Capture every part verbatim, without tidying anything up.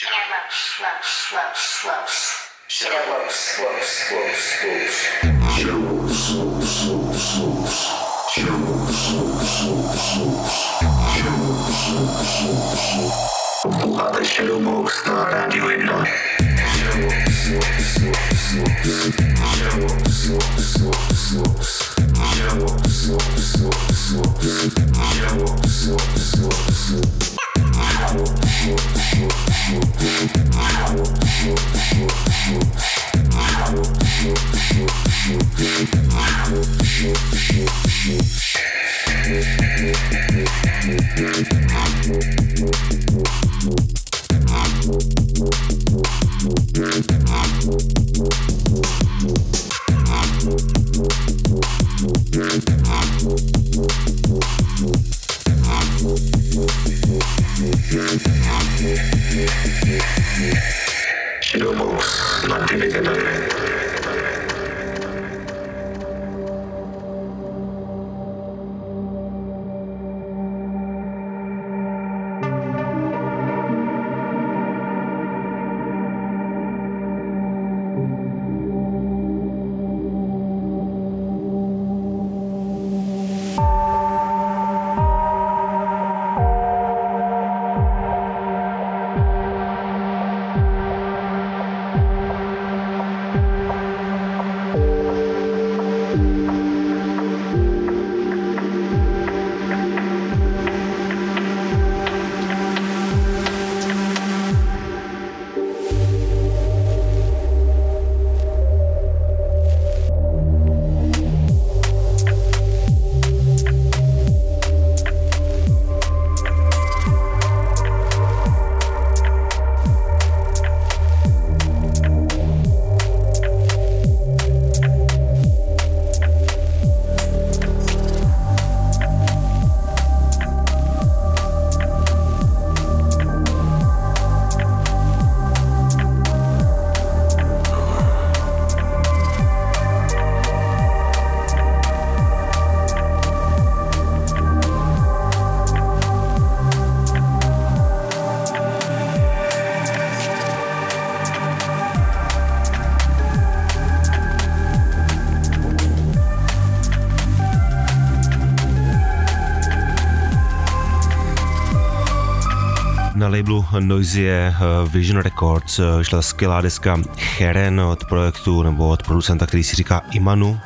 Na labelu Noisia Vision Records šla skvělá deska Cheren od projektu nebo od producenta, který si říká Imanu.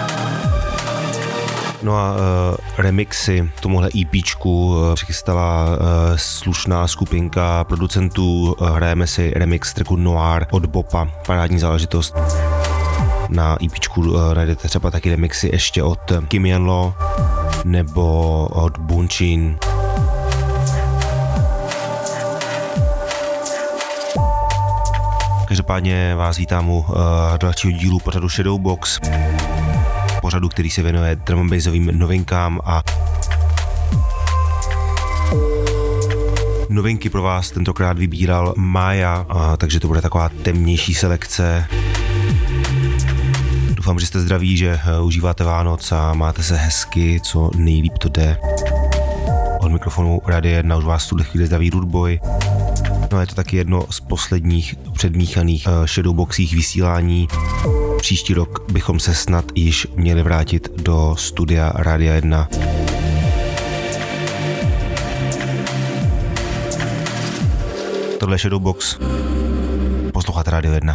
No a uh, remixy tomuhle EPčku uh, přichystala uh, slušná skupinka producentů. Uh, hrajeme si remix tracku Noir od Bopa, parádní záležitost. Na EPčku uh, najdete třeba taky remixy ještě od Kim Yan Lo nebo od Bunchin. Každopádně vás vítám u uh, dalšího dílu pořadu Shadowbox, pořadu, který se věnuje drum and bassovým novinkám a novinky pro vás tentokrát vybíral Maya, uh, takže to bude taková temnější selekce. Doufám, že jste zdraví, že uh, užíváte Vánoc a máte se hezky, co nejlíp to jde. Od mikrofonu Radia jedna už vás v tuhle chvíli zdraví Rudeboy. No je to taky jedno z posledních předmíchaných uh, shadowboxích vysílání. Příští rok bychom se snad již měli vrátit do studia Radia jedna. Tohle je Shadowbox. Posloucháte Radio jedna.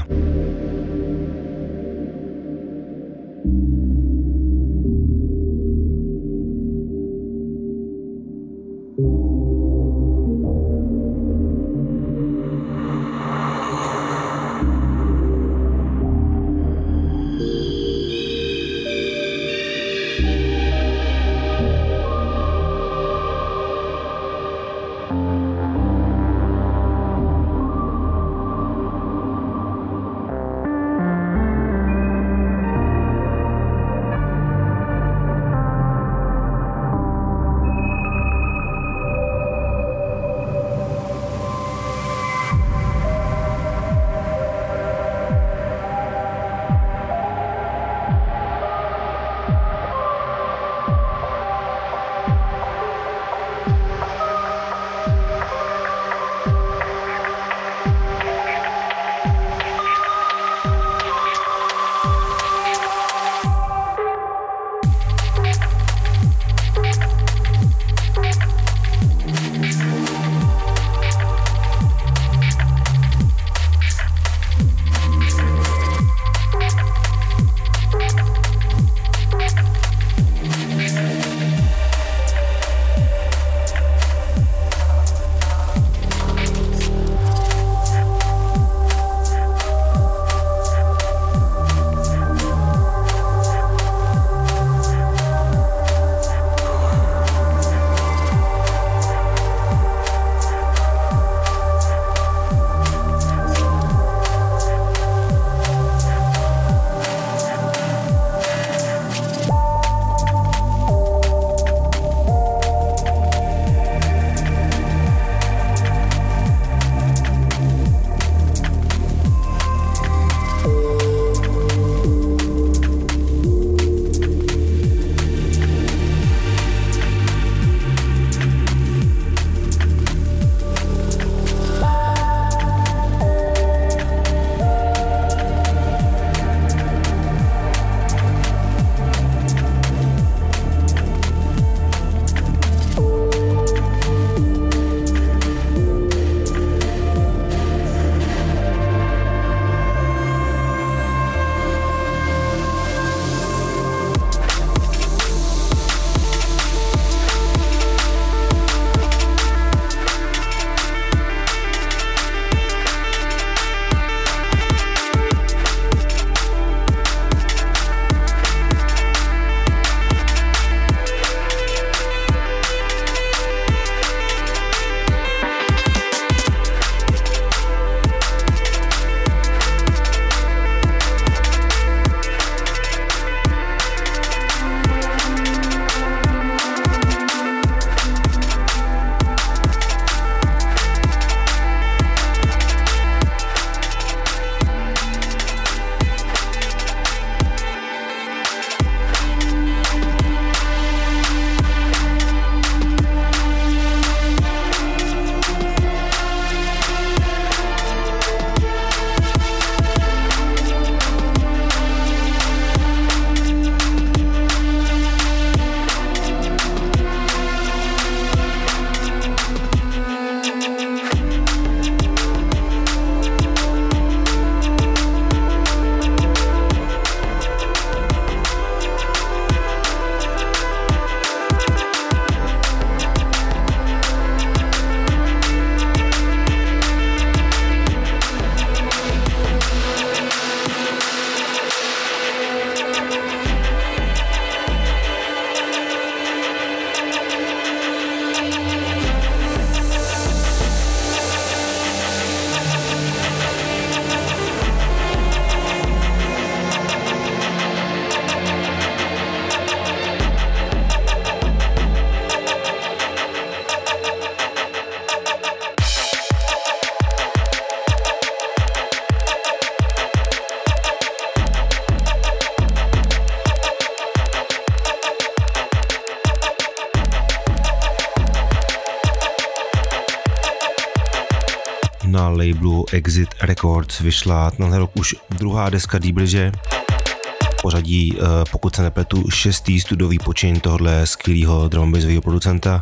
na labelu Exit Records vyšla tenhle rok už druhá deska D-Bridge. Pořadí, pokud se nepletu, šestý studiový počin tohohle skvělého drumbasového producenta.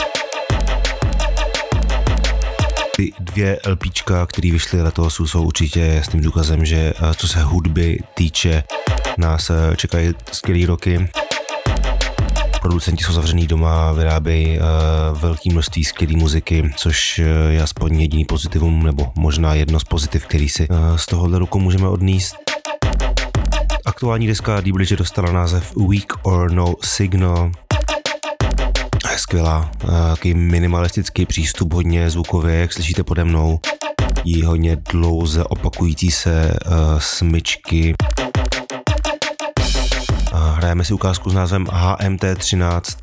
Ty dvě LPčka, které vyšly letos, jsou určitě jasným důkazem, že co se hudby týče, nás čekají skvělý roky. Producenti jsou zavřený doma, vyrábějí uh, velké množství skvělé muziky, což je aspoň jediný pozitivum, nebo možná jedno z pozitiv, který si uh, z tohohle roku můžeme odníst. Aktuální deska D-Bridge dostala název Weak or No Signal. Je skvělá, uh, takový minimalistický přístup, hodně zvukově, jak slyšíte pode mnou. Jí hodně dlouze opakující se uh, smyčky. Hrajeme si ukázku s názvem H M T třináct.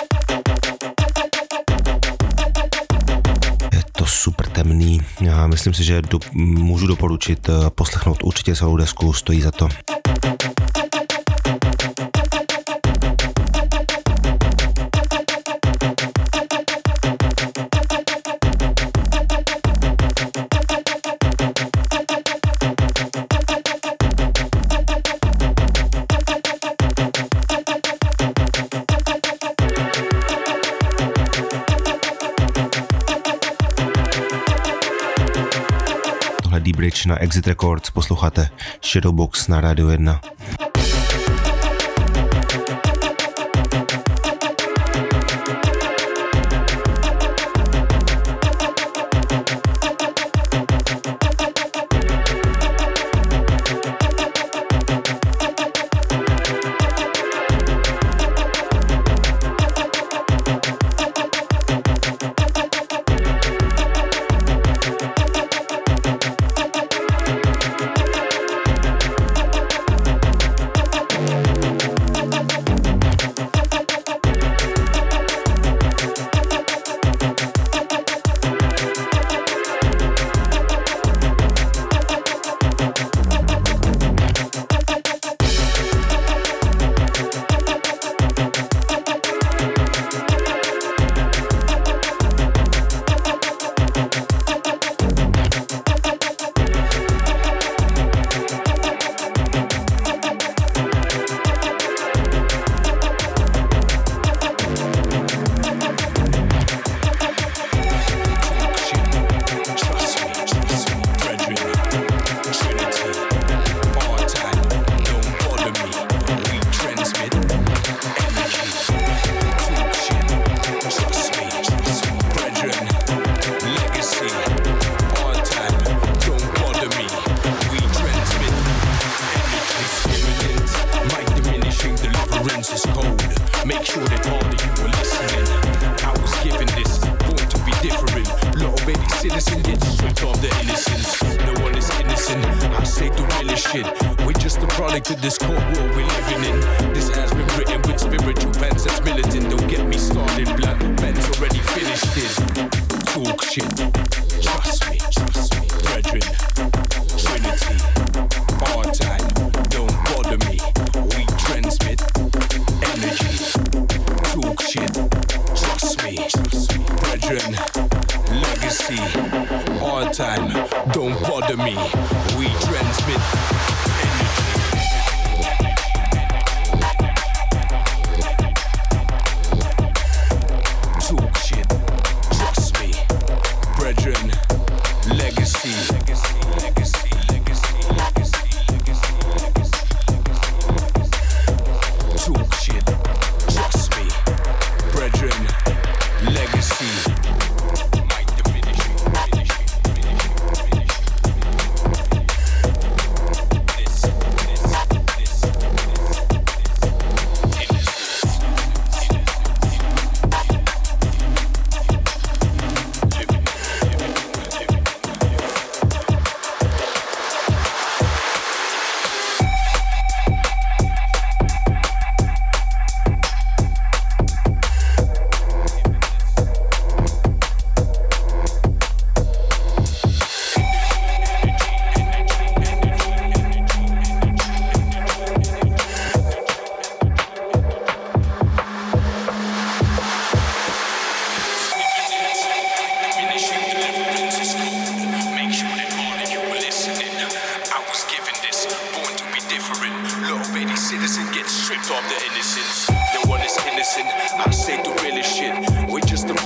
Je to super temný. Já myslím si, že do, můžu doporučit poslechnout určitě celou desku, stojí za to. D-Bridge na Exit Records, posloucháte Shadowbox na Rádiu jedna.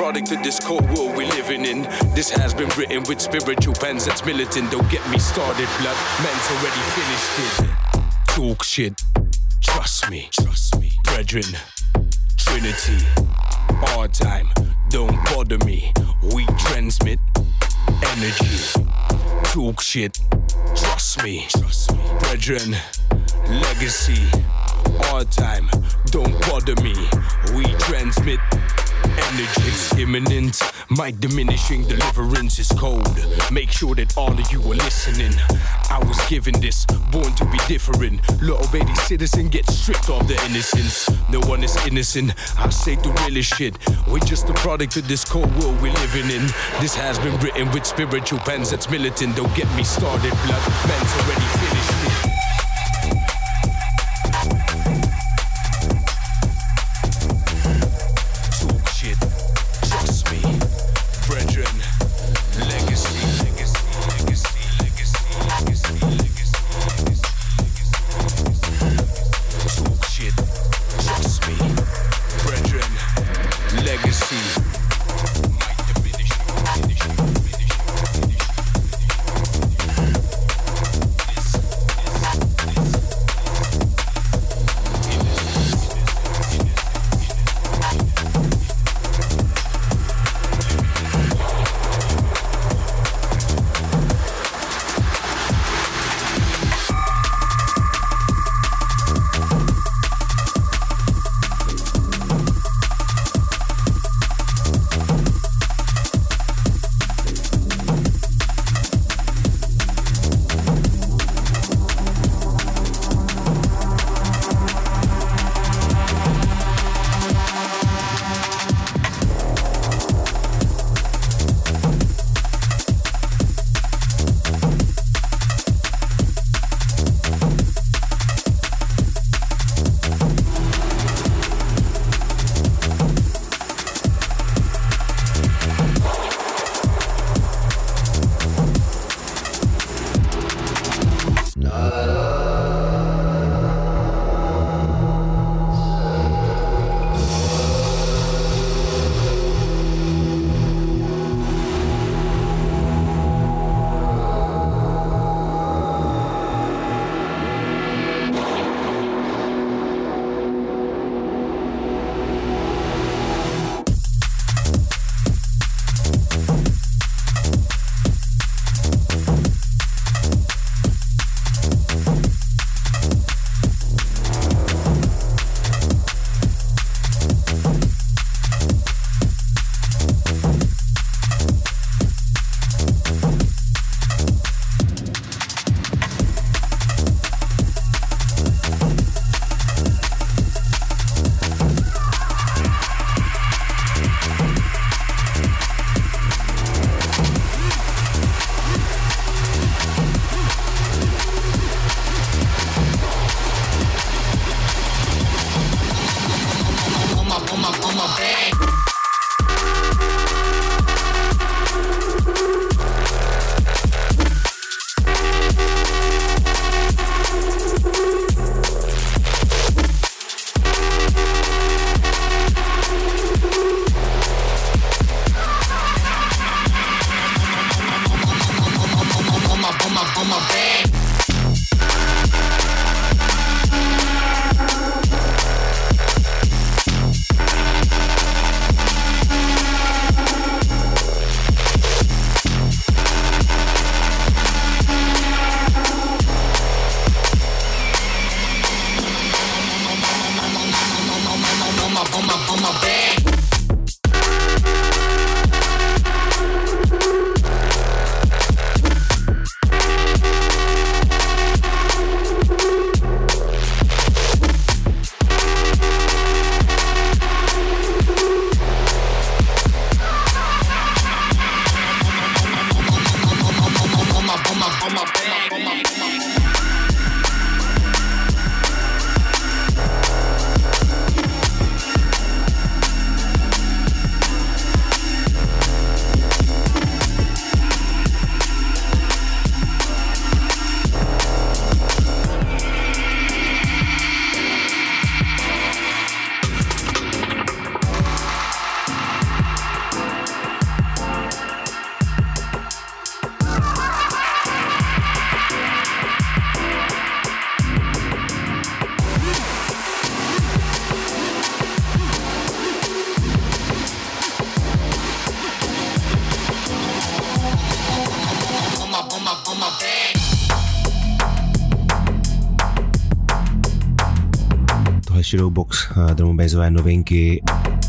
product of this cold world we're living in. This has been written with spiritual pens that's militant. Don't get me started, blood. Man's already finished it. Talk shit. Trust me. Trust me. Brethren. Trinity. Our time. Don't bother me. We transmit energy. Talk shit. Trust me. Trust me. Brethren. Legacy. Our time. Don't bother me. We transmit energy. It's imminent. My diminishing deliverance is cold. Make sure that all of you are listening. I was given this, born to be different. Little baby citizen gets stripped of their innocence. No one is innocent, I say the realest shit. We're just a product of this cold world we're living in. This has been written with spiritual pens that's militant. Don't get me started, blood. Man's already finished it. Shadowbox, drum and bassové novinky.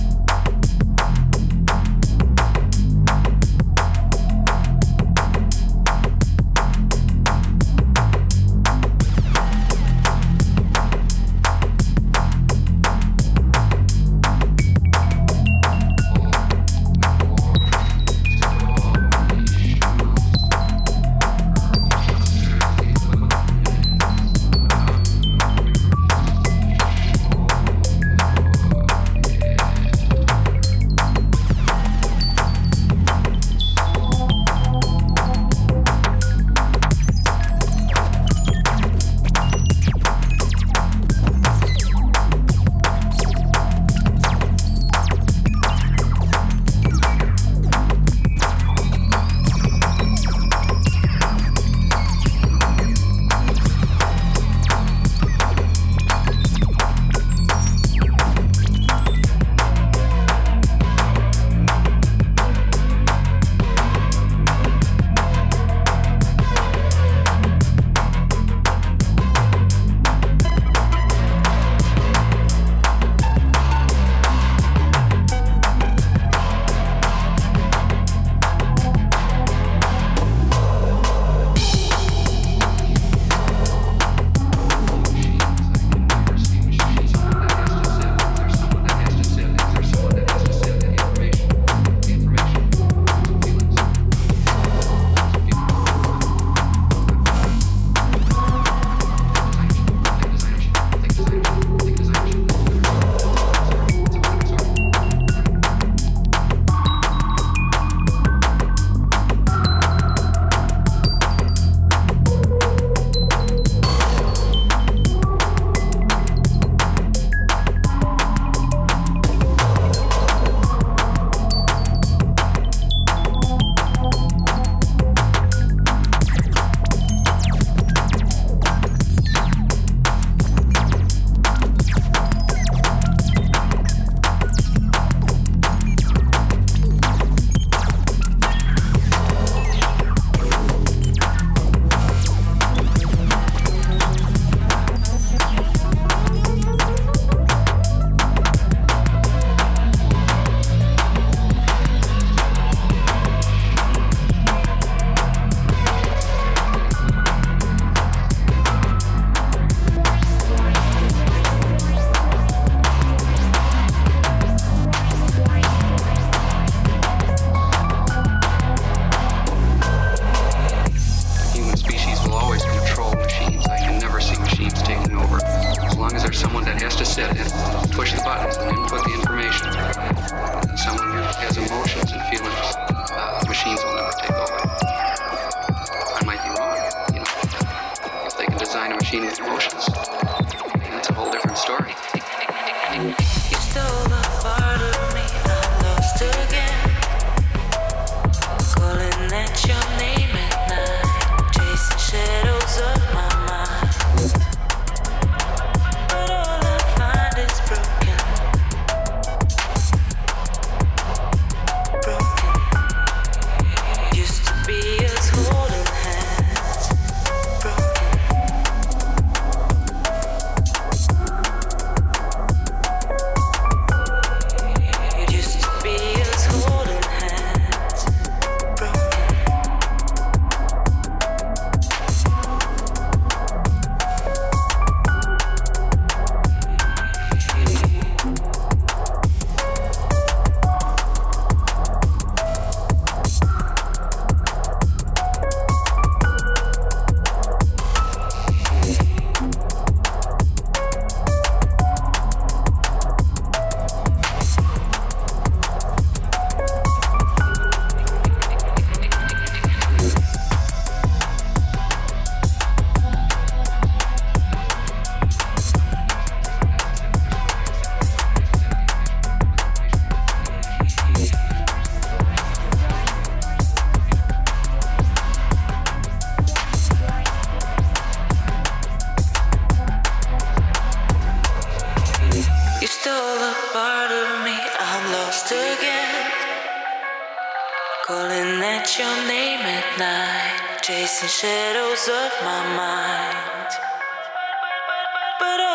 Calling at your name at night, chasing shadows of my mind. But all I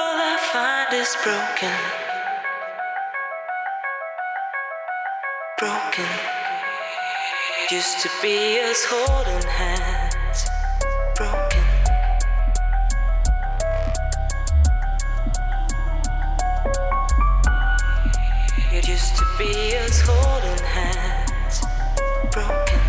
find is broken. Broken. Used to be us holding hands. Broken. It used to be us holding hands. Broken.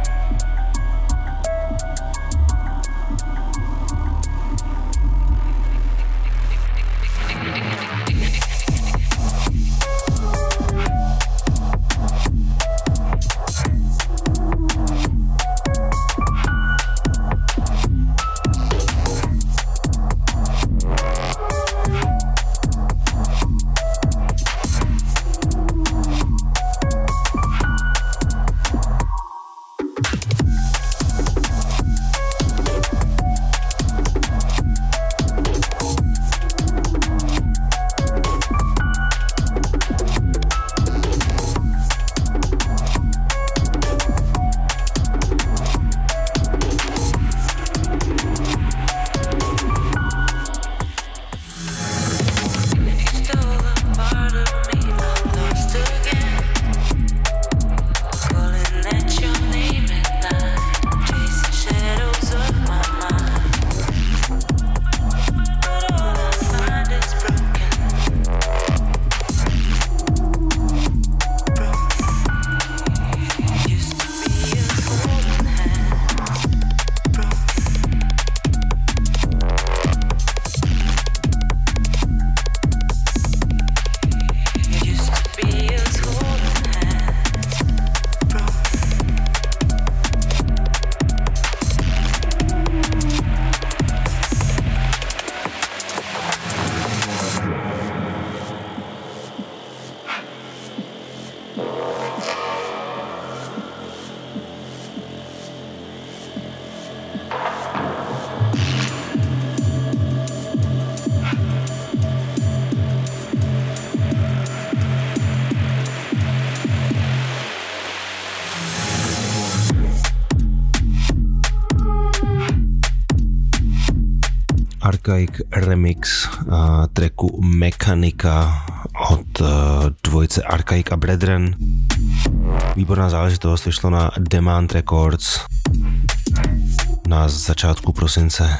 Archaic remix uh, tracku Mechanika od uh, dvojice Archaic a Brethren. Výborná záležitost, vyšlo na Demand Records na začátku prosince.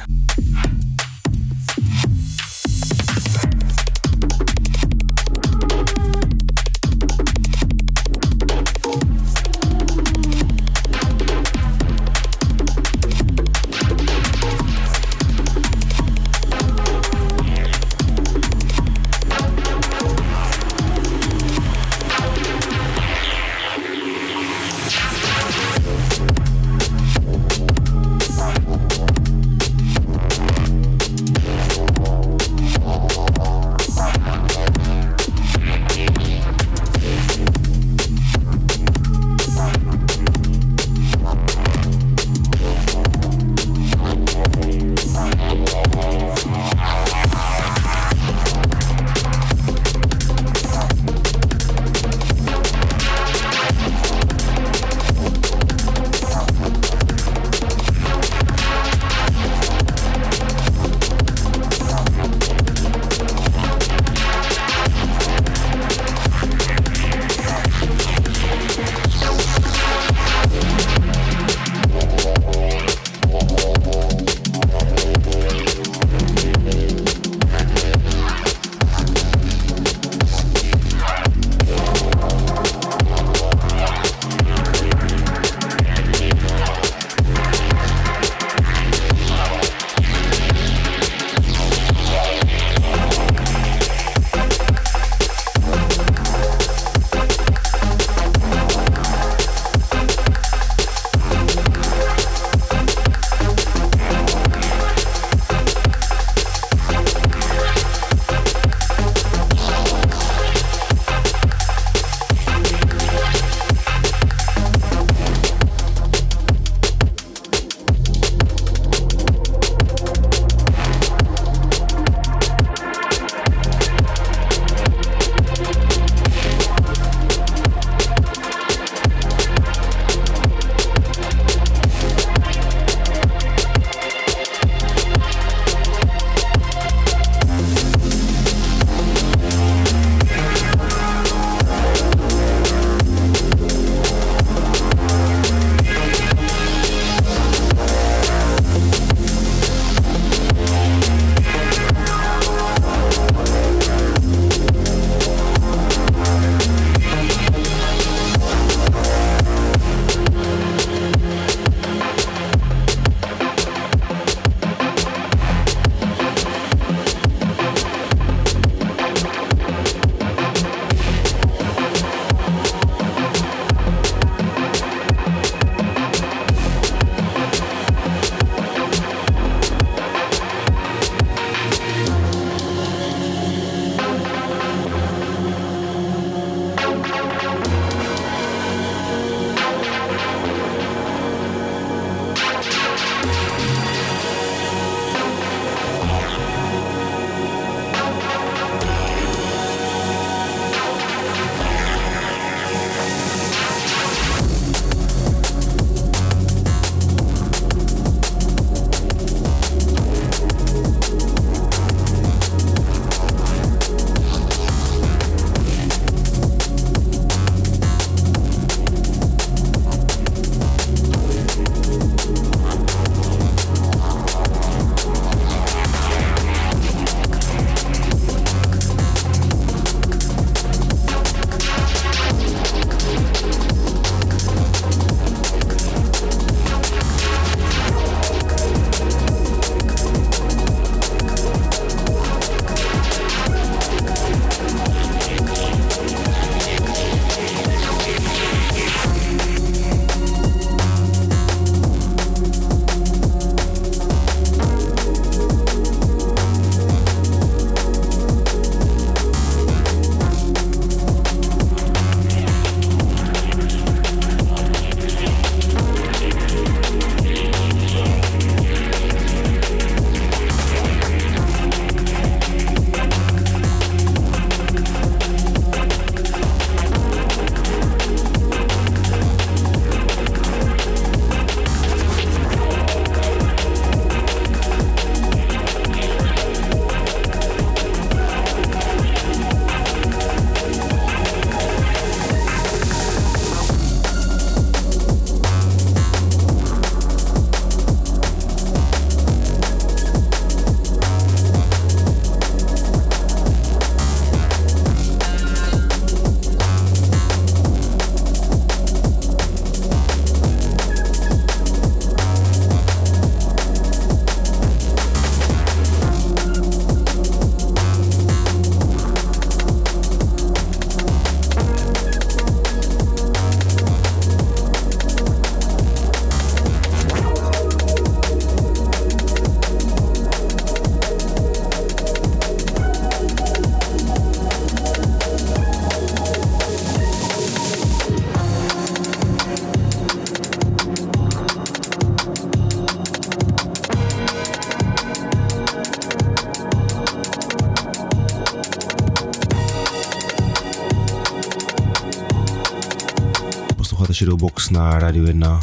Posloucháte Shadowbox na Radio jedna.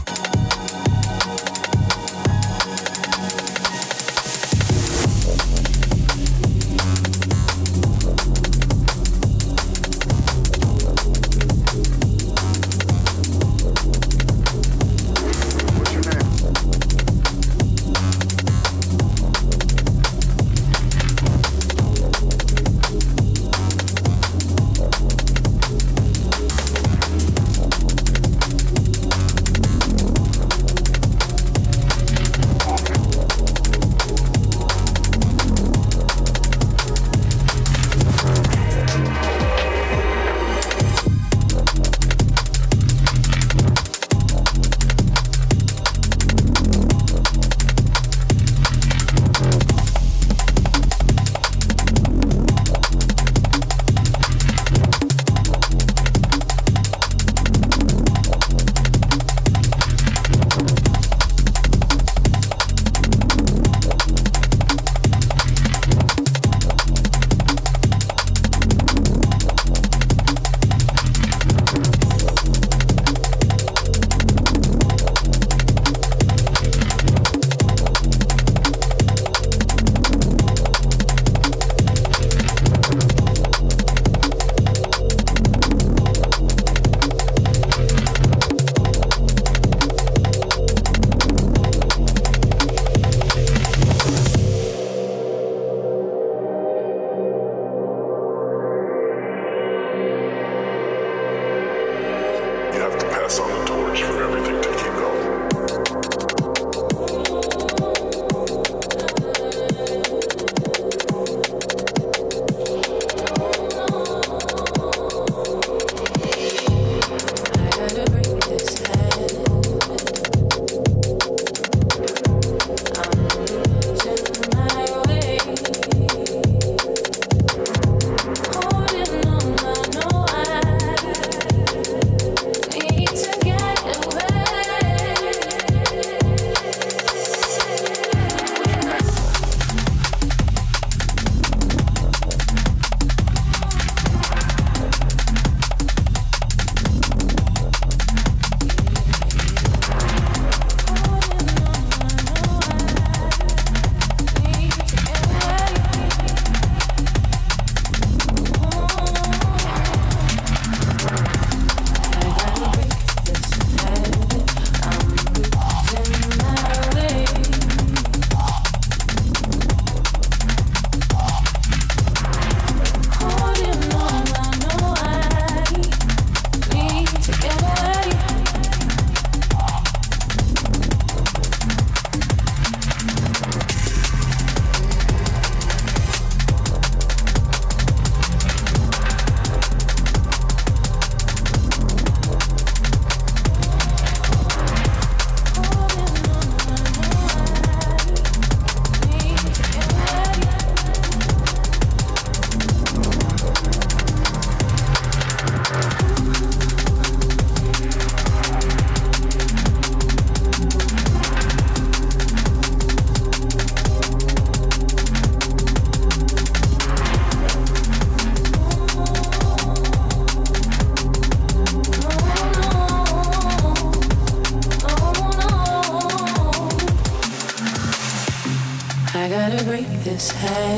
this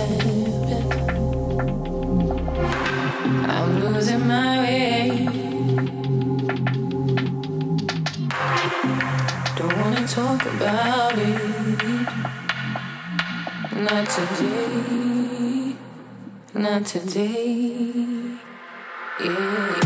habit. I'm losing my way. Don't wanna talk about it. Not today. Not today. Yeah.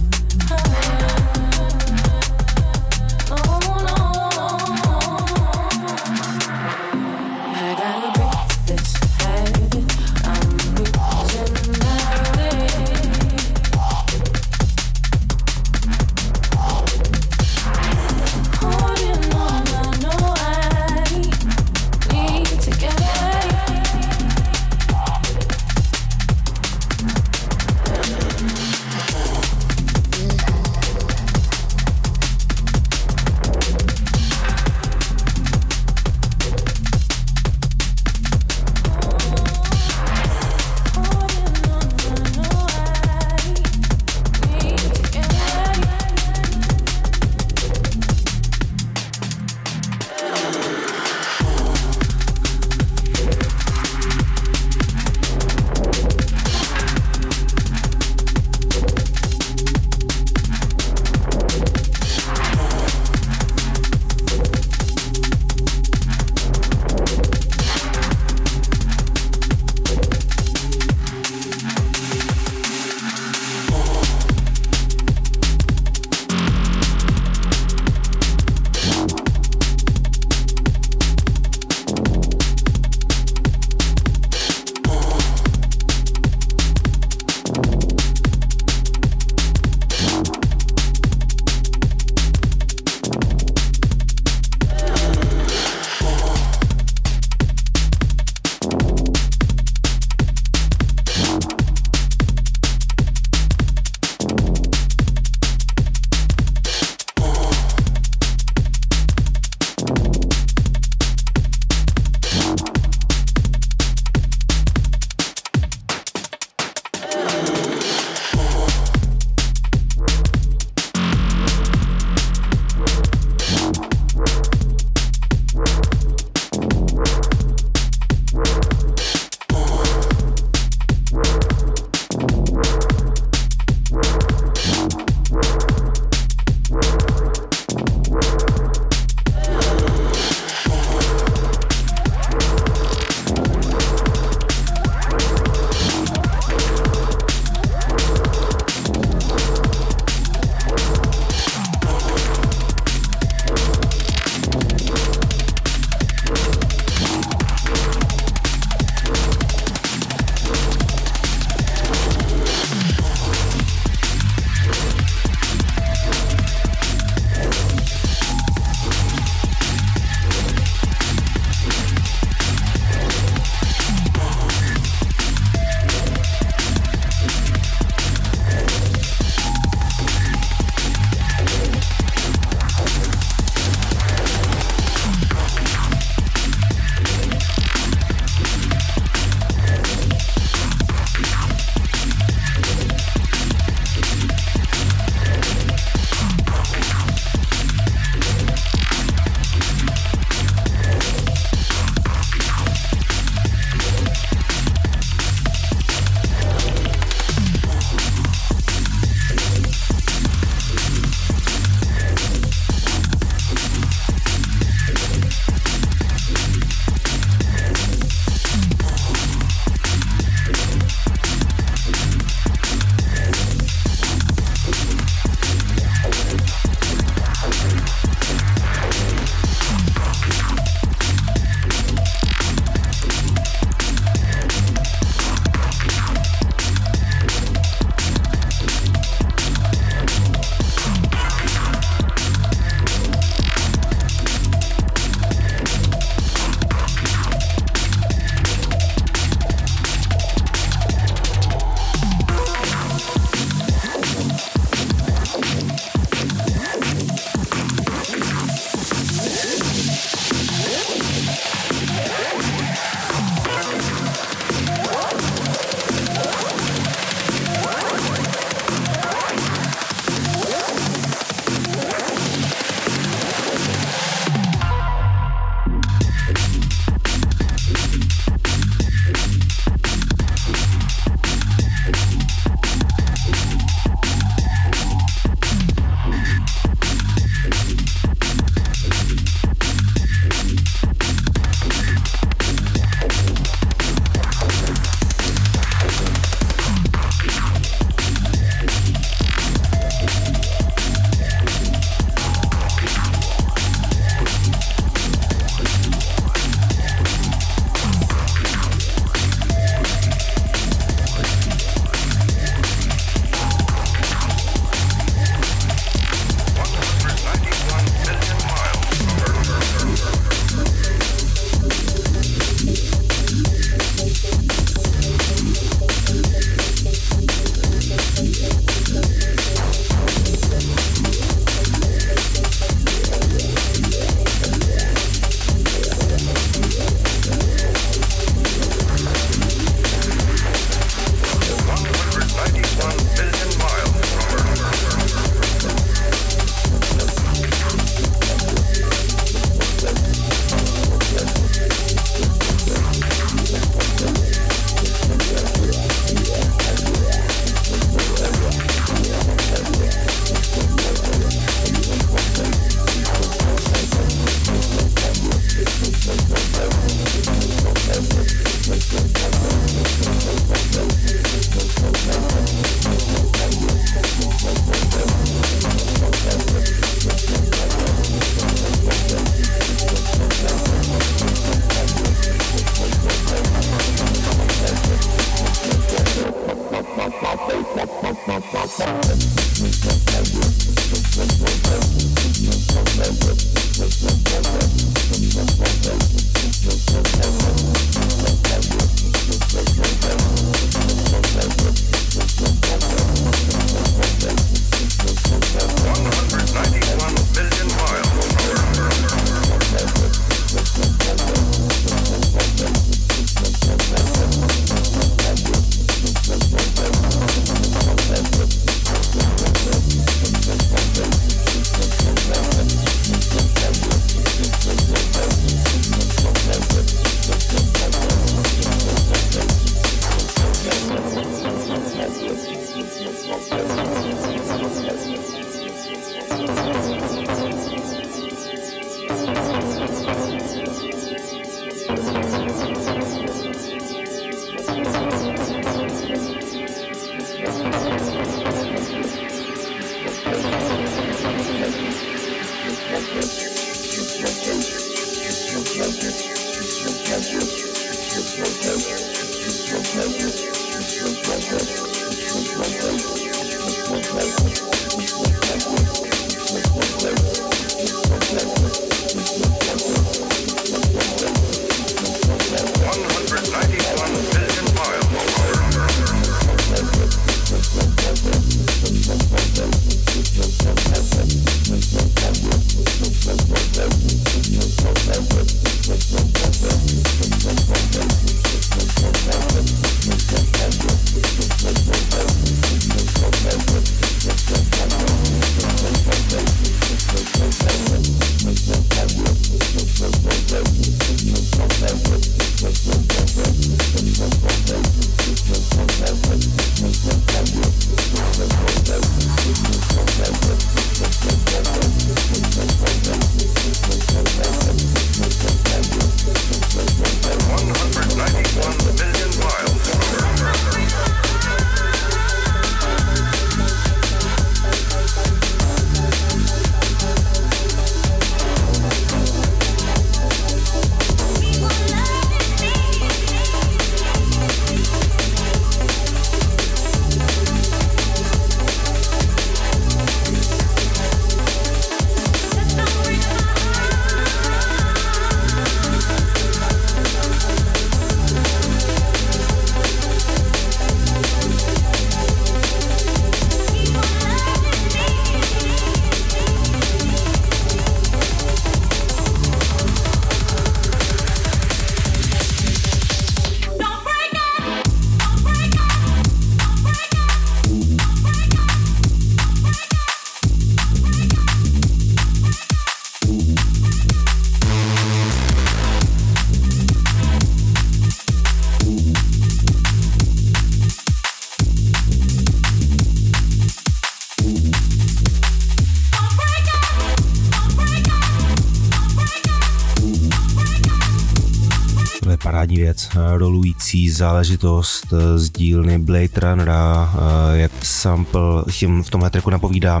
parádní věc, rolující záležitost z dílny Blade Runnera, jak sample tím v tomhle tracku napovídá.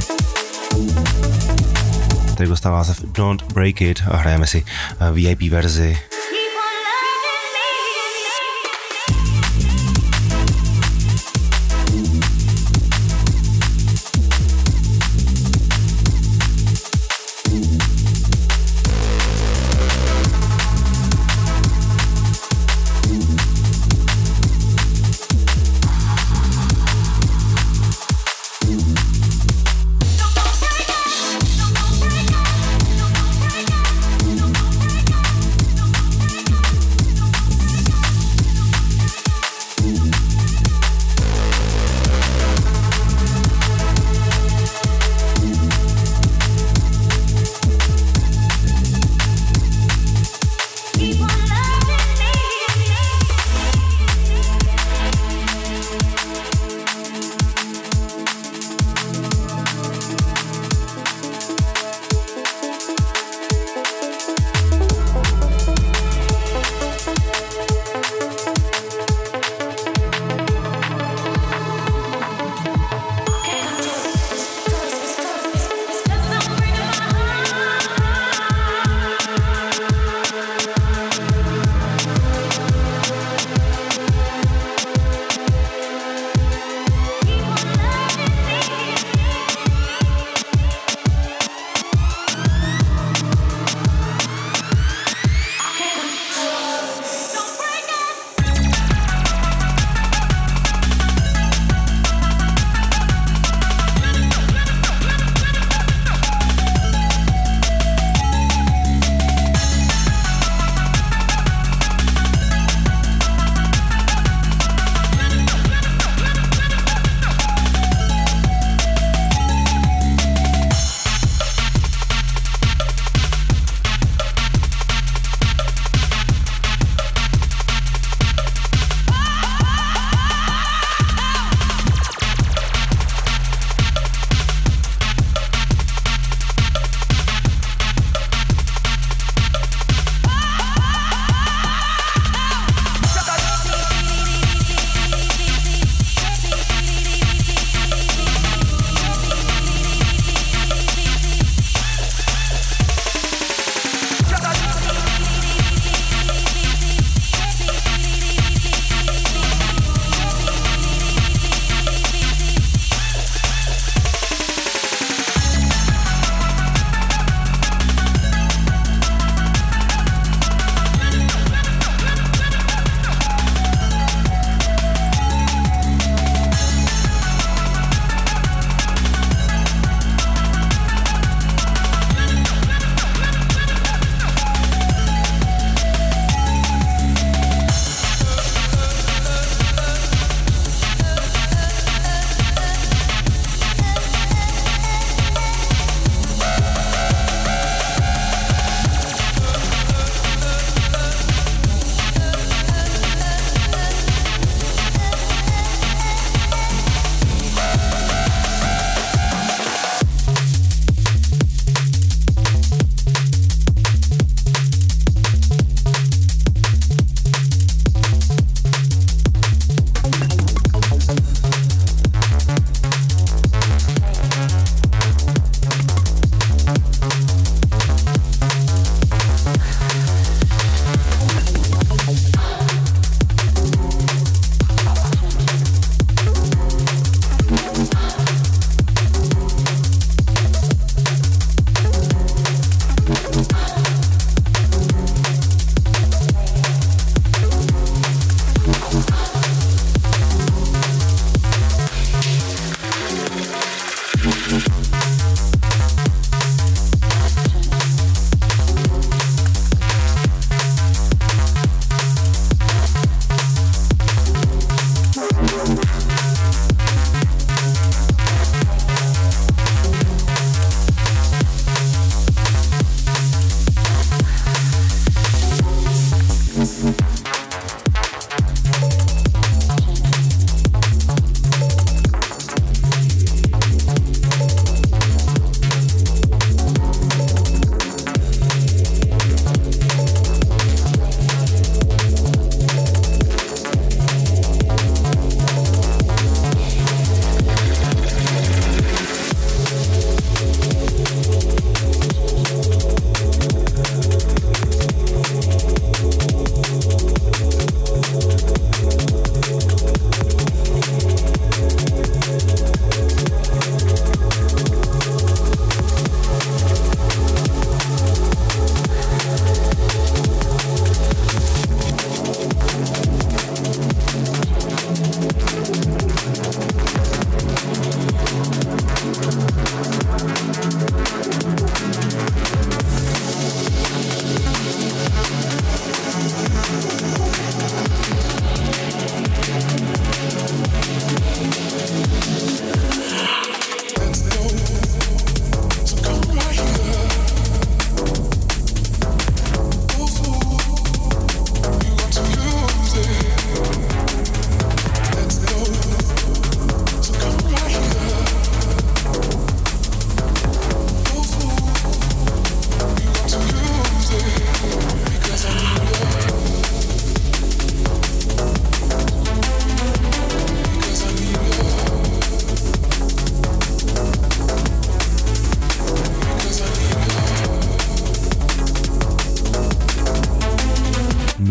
Tady dostává se Don't Break It a hrajeme si V I P verzi.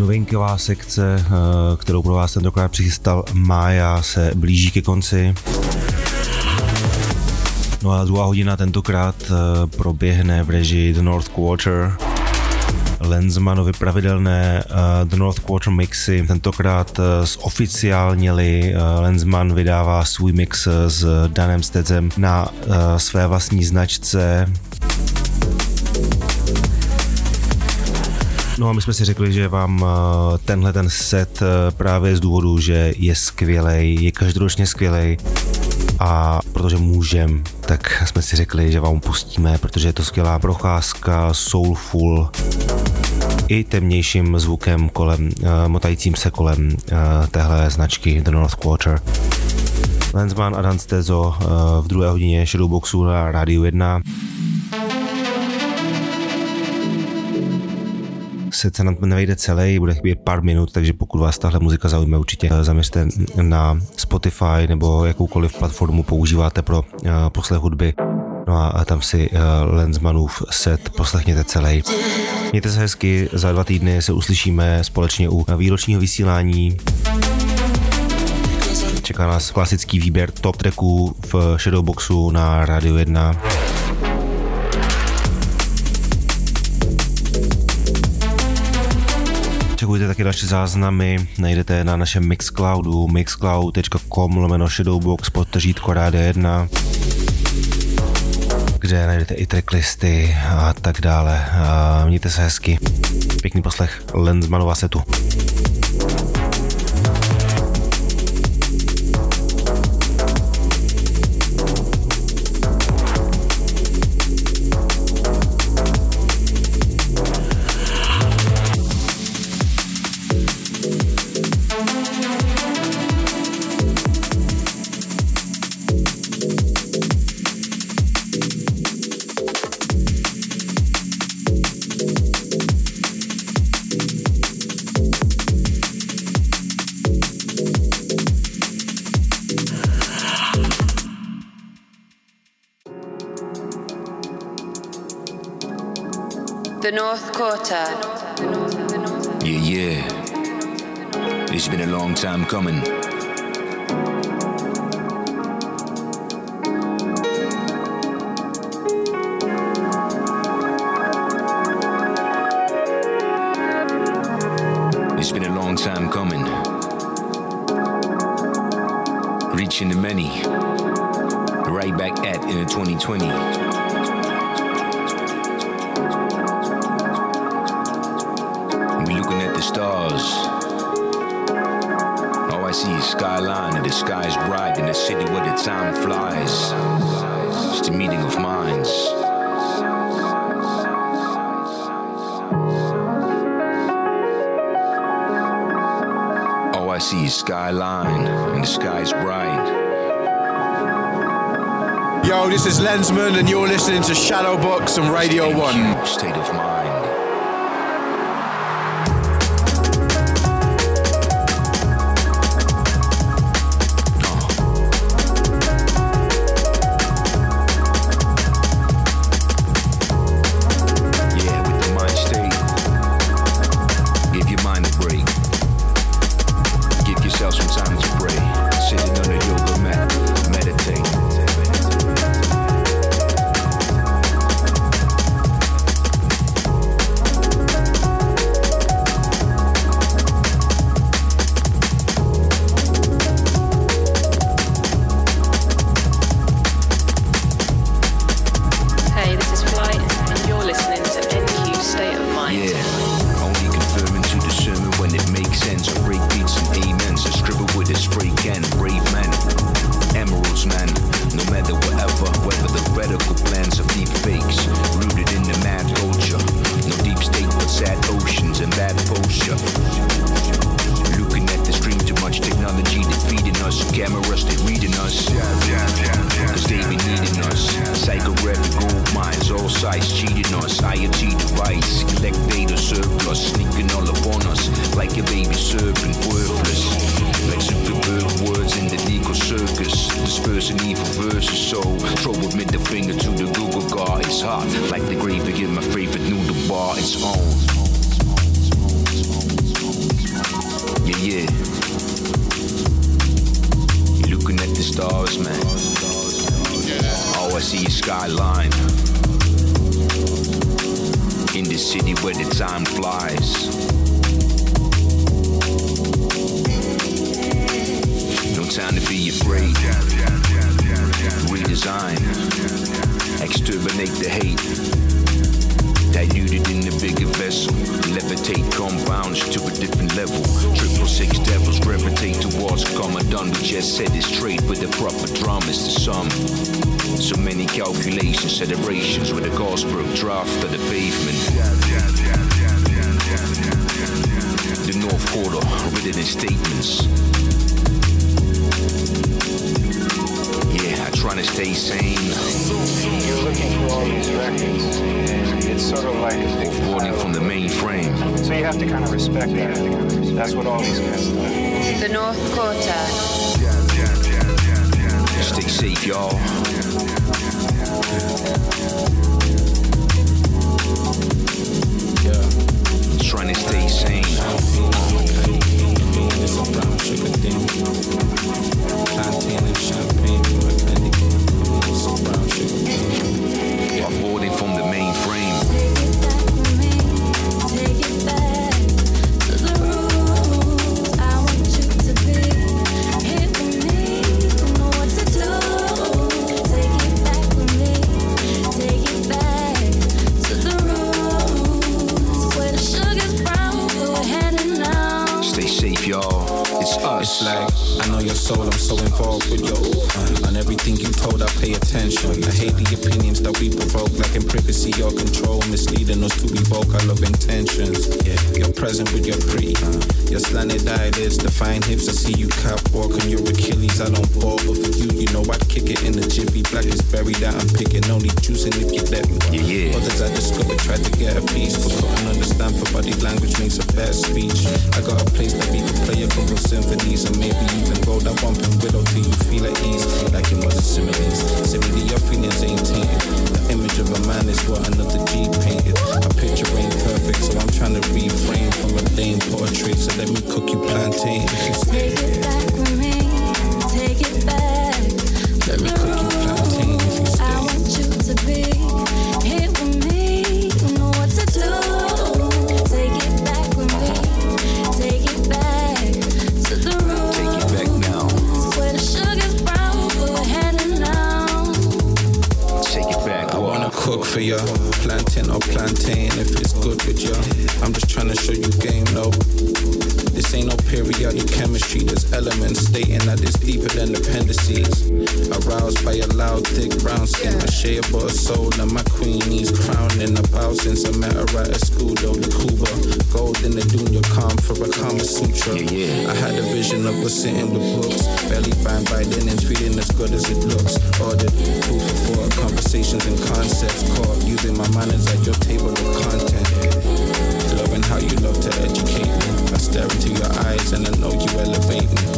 novinková sekce, kterou pro vás tentokrát přichystal Mája, se blíží ke konci. No a druhá hodina tentokrát proběhne v režii The North Quarter. Lenzmanovi pravidelné uh, The North Quarter mixy, tentokrát uh, zoficiálněli. uh, Lenzman vydává svůj mix s Danem Stedzem na uh, své vlastní značce. No a my jsme si řekli, že vám uh, tenhle ten set uh, právě z důvodu, že je skvělej, je každoročně skvělej a protože můžem, tak jsme si řekli, že vám pustíme, protože je to skvělá procházka, soulful, i temnějším zvukem kolem, uh, motajícím se kolem uh, téhle značky The North Quarter. Lenzman a Dan Stezo uh, v druhé hodině Shadowboxu na Rádiu jedna. Set se nám nevejde celý, bude chybět pár minut, takže pokud vás tahle muzika zaujme, určitě zaměřte na Spotify nebo jakoukoliv platformu používáte pro uh, poslech hudby. No a, a tam si uh, Lenzmanův set poslechněte celý. Mějte se hezky, za dva týdny se uslyšíme společně u výročního vysílání. Čeká nás klasický výběr top tracků v Shadowboxu na Rádiu jedna. Čekujte taky další záznamy, najdete na našem Mixcloudu mixcloud tečka com lomeno Shadowbox podtržítko Rádia jedna, kde najdete i tracklisty a tak dále. A mějte se hezky. Pěkný poslech Lenzmanova setu. The North Quarter. Yeah, yeah. It's been a long time coming. It's been a long time coming. Reaching the many. Right back at in twenty twenty. Looking at the stars, all I see is skyline and the sky's bright in a city where the time flies. It's the meeting of minds. All I see is skyline and the sky's bright. Yo, this is Lenzman and you're listening to Shadowbox on Radio one. State of mind. Like the grave to give my favorite noodle bar its own. skyline. In the city where the time flies. No time to be afraid. Redesign. Exterminate the hate. Diluted in the bigger vessel. Levitate compounds to a different level. Triple six devils gravitate towards common done. We just said it's trade with the proper drum is the sum. So many calculations, celebrations with a Gosberg draft of the pavement. The North Quarter, written in statements. Yeah, I try to stay sane. You're looking for all these records, and it's sort of like a big Boarding from the mainframe. So you have to kind of respect that. That's what all these guys do. The North Quarter. Stay safe, y'all. Yeah. Trying to stay sane. It's a brown sugar thing. Plantain and champagne for my candy cane. It's a brown sugar thing. Avoiding from the mainframe. Take it back to the rules. I want you to be here for me. You know what to do. Take it back from me. Take it back to the rules. Where the sugar's brown, we're heading now. Stay safe, y'all. It's us. It's like, I know your soul, I'm so involved with your uh, on everything you told, I pay attention. I hate the opinions that we provoke, like in privacy or control, misleading us to evoke our love intentions. Yeah, you're present with your pre, uh, your slanted eyelids, define hips. I see you cap walk on your Achilles. I don't fall, but for you, you know I'd kick it in the jiffy. Black is buried out, I'm picking, only juicing if you let me. Yeah, yeah. Others I discovered tried to get a piece, but couldn't understand for body language makes a better speech. I got a place that we can play a couple symphonies, and maybe even roll that bumping widow till you feel at ease, like it was a similes. Simile, your feelings ain't tainted. The image of a man is what another G painted. My picture ain't perfect, so I'm trying to refrain from a lame portrait. So let me cook you plantain. Take it back from me. Take it back. Let me cook you plantain if you stay. I want you to be here with me. You know what to do. Take it back with me. Take it back to the room. Take it back now. Where the sugar's brown, we're heading now. Take it back. I wanna cook for ya, plantain or plantain if it's good with ya. I'm just trying to show you game, no. This ain't no periodic chemistry. There's elements stating that it's deeper than appendices. Aroused by a loud, thick brown skin, my shea but a soul and my queen needs crowning. About since I met her at a school, though the Cuba, gold in the dunya, calm for a Kama Sutra. Yeah, yeah. I had a vision of us sitting with books, barely bound by linens, feeling as good as it looks. Ordered food for thought, conversations and concepts, caught using my manners at your table of content. Loving how you love to educate me. I stare into your eyes and I know you elevate me.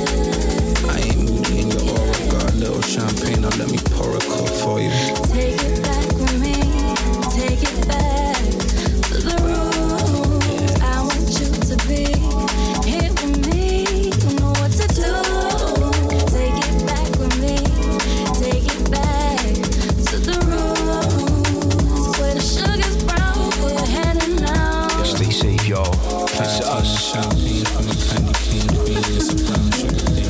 I ain't moody in your aura, got a little champagne, now let me pour a cup for you. Take it back with me. Take it back to the rules. I want you to be here with me. You know what to do. Take it back with me. Take it back to the rules. Where the sugar's brown, we're heading now. Stay safe, y'all. It's us. Champagne from a candy cane queen, it's a brown sugar thing.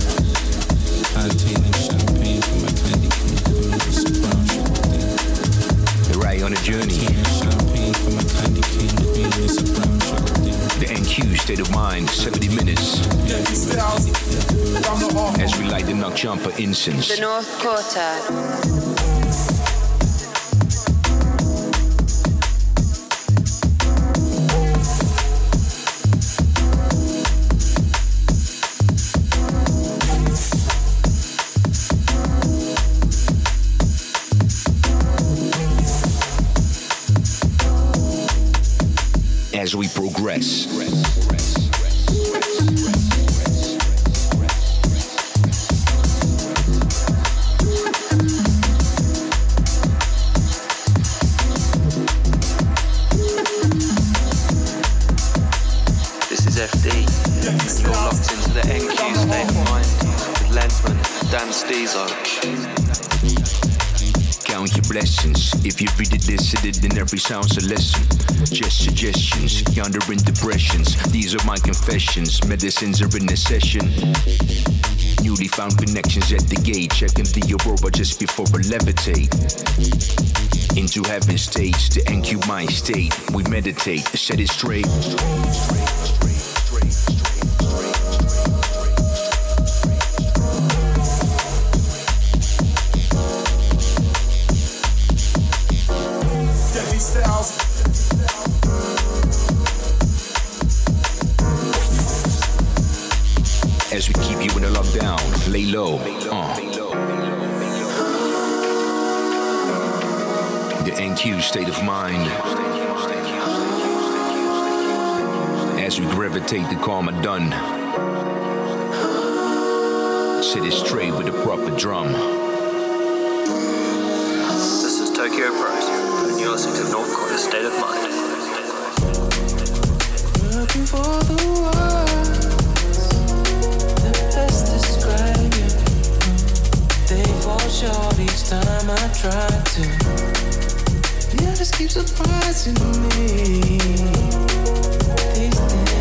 Plantain and champagne from a candy cane queen, it's a brown sugar thing. You're right on a journey. Champagne from a candy cane queen, it's a brown sugar thing. The N Q state of mind, seventy minutes. As we light the Knock Jumper incense. The North Quarter. As we progress. This is F D, and you're locked into the N Q state of mind with Lensman Dan Steezo. count your blessings. If you read it, listen it, then every sound's a lesson. Just suggestions, yonder in depressions. These are my confessions, medicines are in a session. Newly found connections at the gate, checking the aurora just before I levitate. Into heaven states, the N Q mind state. We meditate, set it straight. As we keep you in a lockdown, lay low. Uh. The N Q state of mind. As we gravitate the karma done. Sit it straight with a proper drum. This is Tokyo Bros, and you're listening to North Quarter State of Mind. Looking for the words that best describe you. They fall short each time I try to. You just keep surprising me these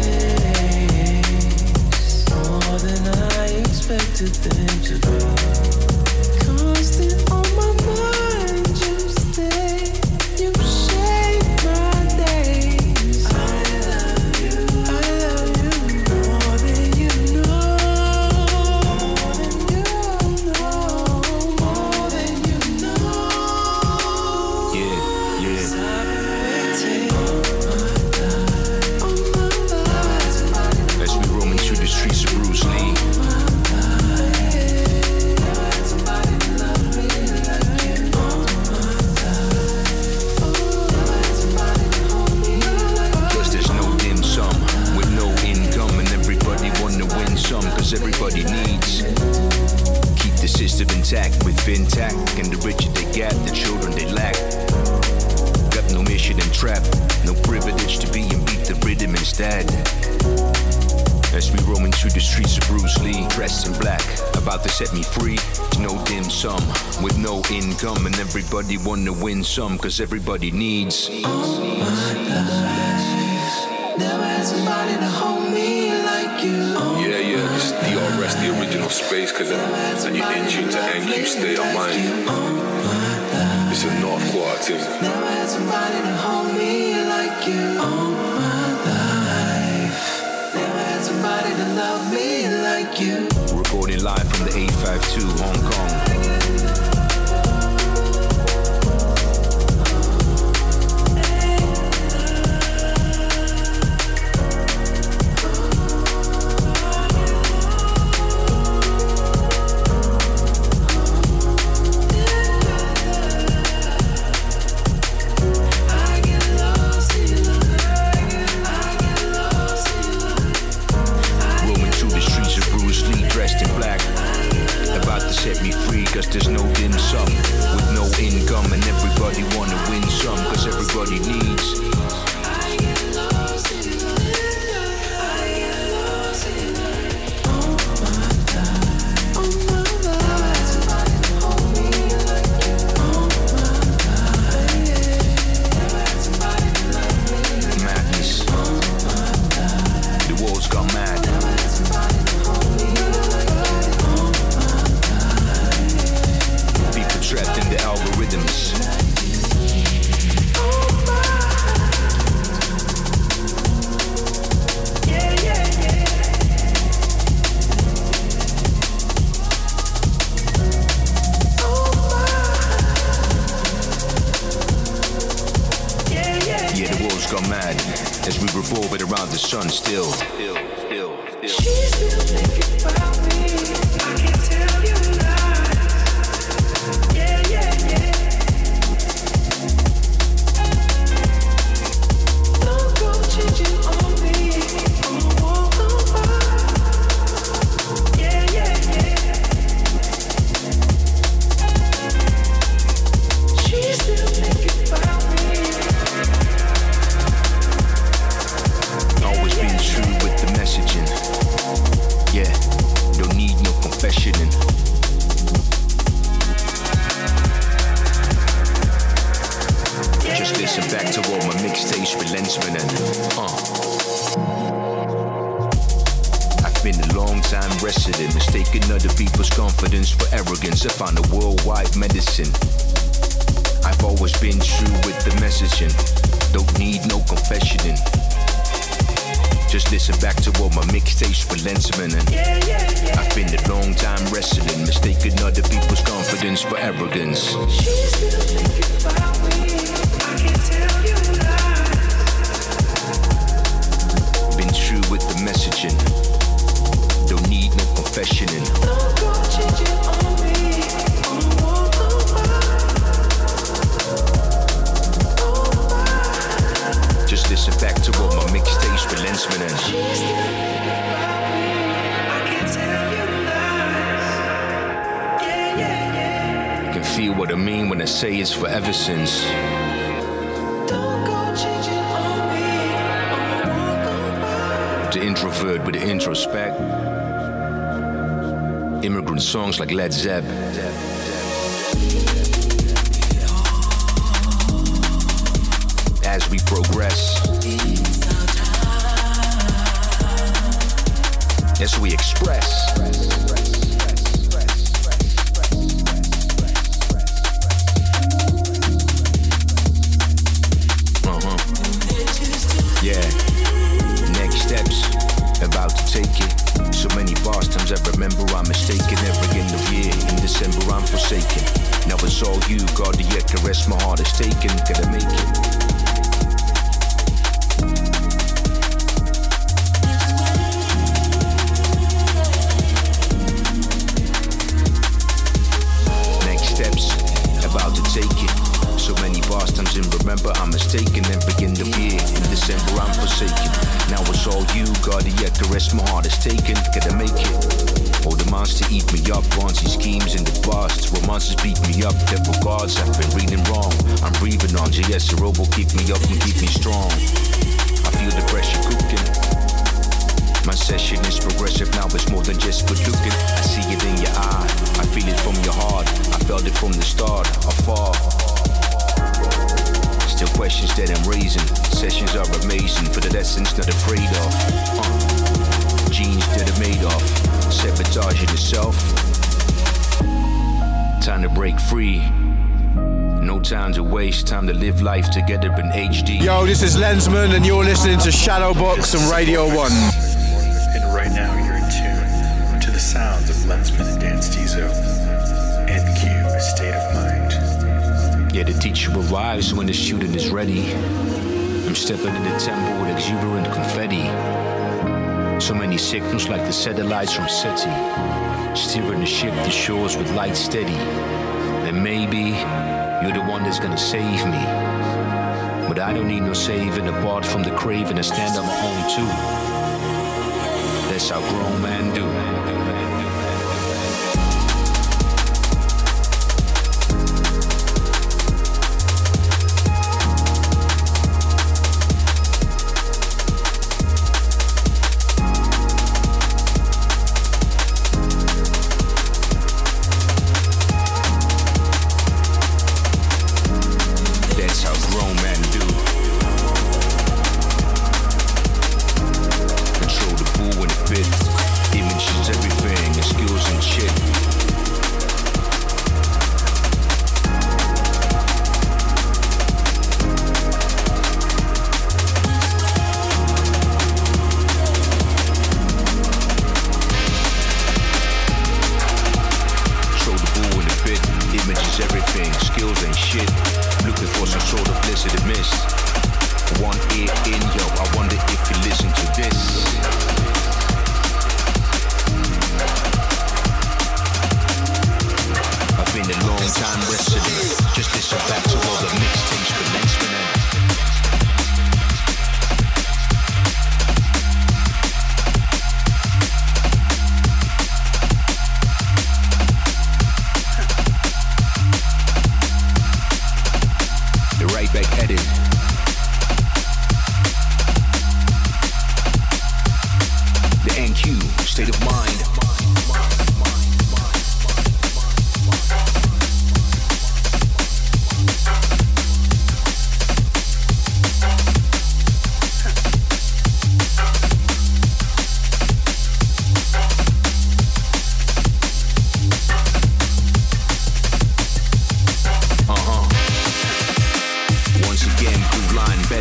days, more than I expected them to be. Constant on my mind, you stay, you shape my days. I love you, I love you more than you know, more than you know, more than you know. Yeah, yeah. As we roam into the streets of Bruce Lee. Cause there's no dim sum with no income, and everybody wanna win some, cause everybody needs. Keep the system intact with FinTech, and the richer they get, the children they lack. Got no mission and trap, no privilege to be and beat the rhythm instead. As we roam into the streets of Bruce Lee, dressed in black, about to set me free. No dim sum, with no income, and everybody wanna win some, cause everybody needs. All my life, never had somebody to hold me like you. Yeah, yeah, this is D R S, the original Space Cadet, and you're in tune to N Q State of Mind. It's a North Quarter thing. Never had somebody to hold me like you. All my life, never had somebody to love me like you. Recording live from the eight five two Hong Kong. Roaming through the streets of Bruce Lee, dressed in black. About to set me free, cause there's no dim sum with no income, and everybody wanna win some, cause everybody needs. Madness. The world's gone mad. People trapped in the algorithms. Yeah, the world's gone mad as we revolve it around the sun still. Still, still, still. She's still thinking about me. I can't tell you lies. Yeah, yeah, yeah. No go changing on me. I'ma walk on by. Yeah, yeah, yeah. She's still thinking about me. Always been true with the messaging. Yeah, don't need no listen back to all my mixtapes with Lensman and uh. I've been a long time resident, mistaking other people's confidence for arrogance. I found a worldwide medicine. I've always been true with the messaging. Don't need no confessioning. Just listen back to all my mixtapes for Lensman and yeah, yeah, yeah. I've been a long time wrestling, mistaking other people's confidence for arrogance. She's still thinking about me. I can't tell you lies. Been true with the messaging. Don't need no confessioning. Don't go changing on me. Oh, oh, oh, oh. Just listen back to all my mixtapes for Lensman and She's still thinking about me. I can't tell you lies. Yeah, yeah, yeah. you can feel what I mean when I say it's forever since. Don't go changing on me. Oh, oh, The introvert with the introspect. Immigrant songs like Led Zepp. As we progress, as we express, uh-huh, yeah, next steps, about to take it. So many past times I remember I'm mistaken. Every end of year, in December I'm forsaken. Now it's all you, God, the yet caress my heart is taken. Gotta make it. About to take it. So many past times and remember I'm mistaken. Every end of year, in December I'm forsaken. Now it's all you, God, yet the rest my heart is taken. Gotta make it. All the monsters eat me up, Bonzi schemes in the past. Romances beat me up, devil gods I've been reading wrong. I'm breathing on J S, the robo keep me up and keep me strong. I feel the pressure cooking. My session is progressive, now it's more than just good looking. I see it in your eye, I feel it from your heart. I felt it from the start, afar. Still questions that I'm raising. Sessions are amazing, for the lessons not afraid of. uh. Genes that are made of, sabotaging itself. Time to break free. No time to waste, time to live life together in H D. Yo, this is Lensman and you're listening to Shadowbox on Radio one. And right now you're in tune to the sounds of Lensman and Dan Stezo. N Q, State of Mind. Yeah, the teacher arrives when the student is ready. I'm stepping in the temple with exuberant confetti. So many signals like the satellites from SETI. Steering the ship to shores with light steady. And maybe you're the one that's gonna save me. But I don't need no saving apart from the craving to stand on my own too. That's how grown men do.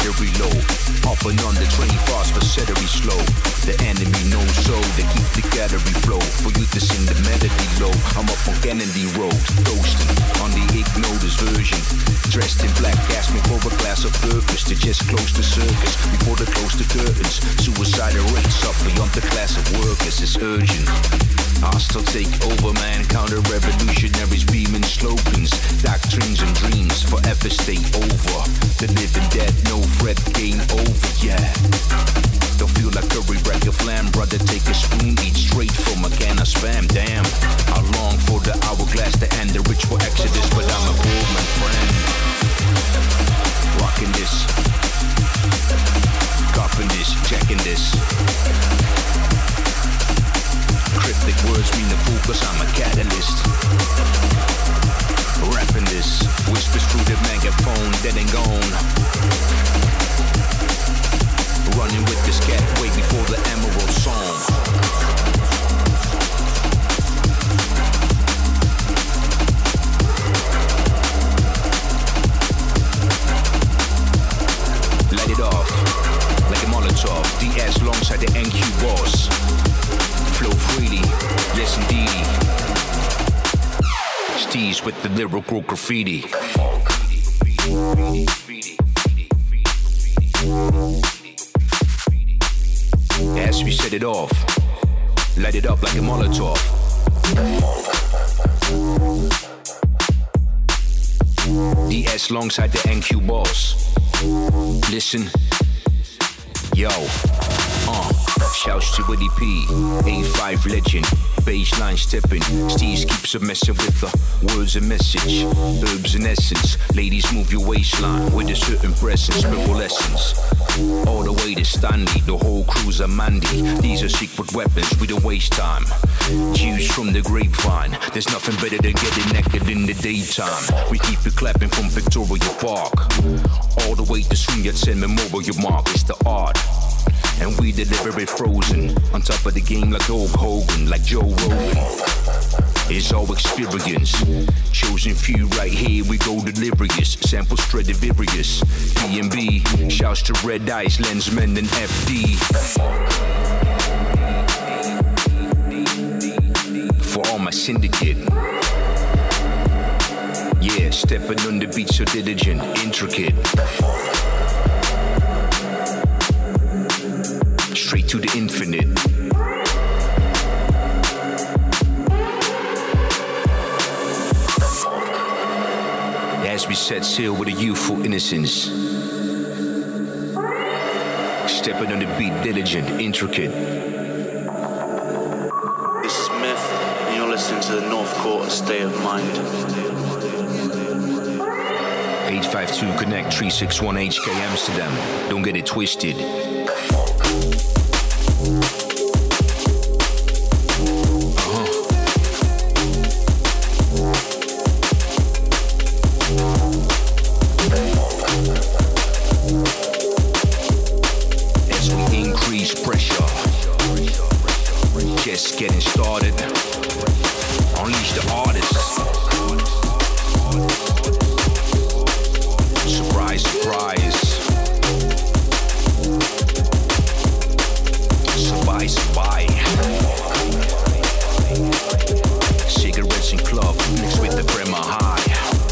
battery low. Up and on the train fast for celery slow. The enemy knows so they keep the gallery flow. For you to sing the melody low. I'm up on Kennedy Road, ghosting on the Ignotus version. Dressed in black, asked me for a glass of purpose to just close the circus before they close the curtains. Suicidal rates up beyond the class of workers. It's urgent. Hostile take over, man. Counter revolutionaries beaming slogans, doctrines and dreams forever stay over. The living dead, no threat, game over, yeah. Don't feel like curry, rack your flam, brother. Take a spoon, eat straight from a can of spam. Damn, I long for the hourglass to end, the ritual exodus, but I'm a poor man friend. Rocking this, copping this, checking this. Cryptic words mean the fool, cause I'm a catalyst. Rapping this, whispers through the megaphone, dead and gone. Running with this cat way before the Emerald Song. Light it off, like a Molotov. D S alongside the N Q boss. Flow freely, yes indeed. Steez with the lyrical graffiti. As we set it off, light it up like a Molotov. D S alongside the N Q boss. Listen, yo, uh. Shouts to Willie P, A five legend, baseline stepping. Steez keeps a messing with the words and message. Herbs and essence, ladies move your waistline with a certain presence, spiritual essence. All the way to Stanley, the whole crew's a Mandy. These are secret weapons, we don't waste time. Juice from the grapevine, there's nothing better than getting naked in the daytime. We keep it clapping from Victoria Park all the way to Sun Yat-sen Memorial Mark. It's the art. And we deliver it frozen, on top of the game like Hulk Hogan, like Joe Rogan. It's all experience, chosen few right here, we go delirious. Sample Stradivarius, B and B, shouts to Red Ice, Lensman and F D. For all my syndicate. Yeah, stepping on the beat so diligent, intricate. Straight to the infinite. As we set sail with a youthful innocence, stepping on the beat, diligent, intricate. This is Myth, and you're listening to the North Quarter State of Mind. eight five two Connect three six one H K Amsterdam. Don't get it twisted. Getting started. Unleash the artists. Surprise, surprise. Surprise, surprise. Cigarettes and club mixed with the Bremer High.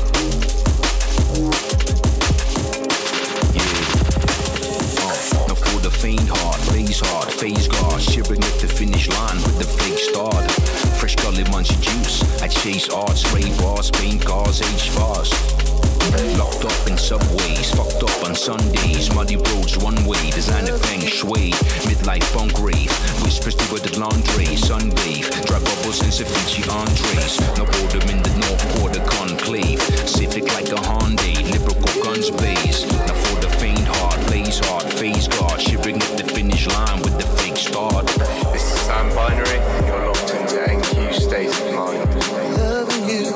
Yeah. Uh, now for the faint heart, blaze hard, phase guard, shivering at the finish line with the fake start. Fresh gully munchy juice. I chase arts, spray bars, paint cars, age fast. Locked up in subways, fucked up on Sundays. Muddy roads, one way, designer feng shui. Midlife funk rave, whispers to the laundry. Sunbathe, dry bubbles and ceviche entrees. No boredom in the North Quarter conclave. Civic like a Hyundai, lyrical guns blaze. Now for the faint heart, blaze hard, phase guard. Shivering at the finish line with the fake start. This is Sam Binary, you're locked into N Q State of Mind. Loving you.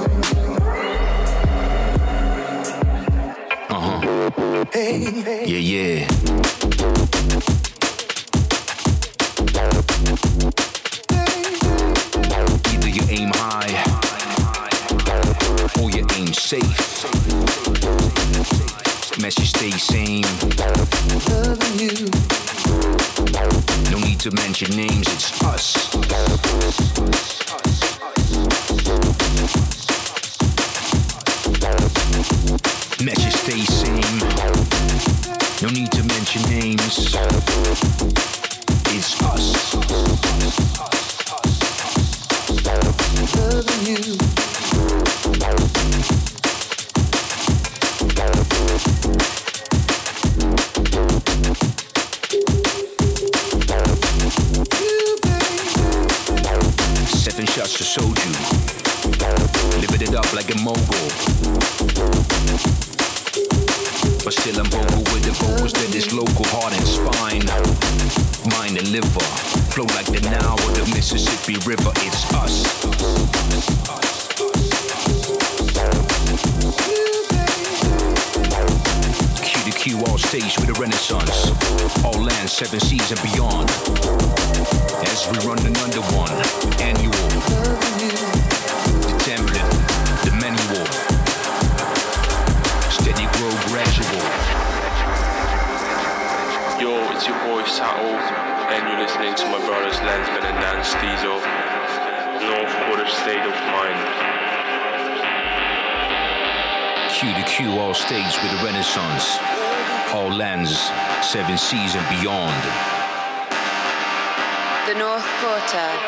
Uh-huh. Hey, hey. Yeah, yeah. Either you aim high or you aim safe. message stay same. Loving you. No need to mention names, it's us. Message stay same. No need to mention names. It's us. Loving you. Seven shots of soju. Living it up like a mogul. But still I'm vocal with the vocals that is local, heart and spine, mind and liver. Flow like the Nile or the Mississippi River. It's us. Q to Q all stage with a renaissance. All lands, seven seas and beyond. As we run another one, annual. The template, the manual. Steady grow gradual. Yo, it's your boy Sato, and you're listening to my brothers Lensman and Nance Diesel. North Quarter State of Mind. Q to Q all stage with a renaissance. All lands, seven seas and beyond. The North Quarter.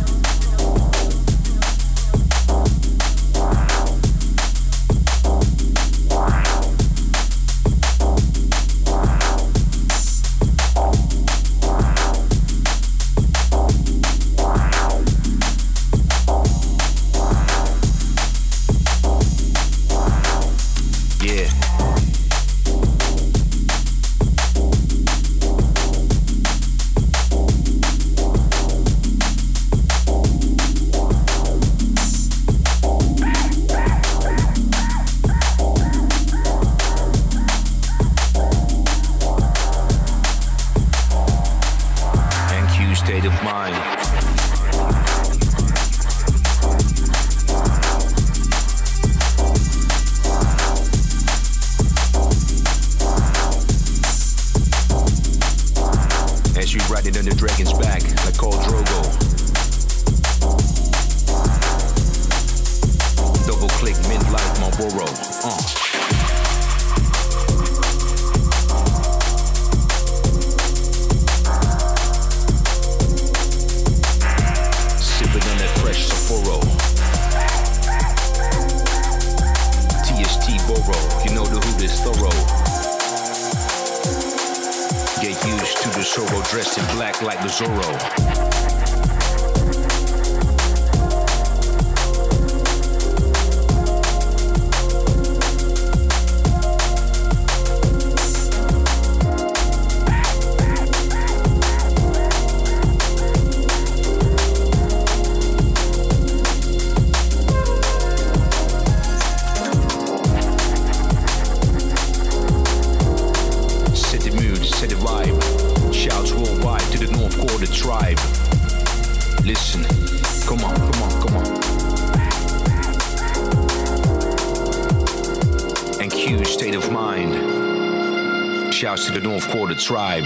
To the North Quarter tribe.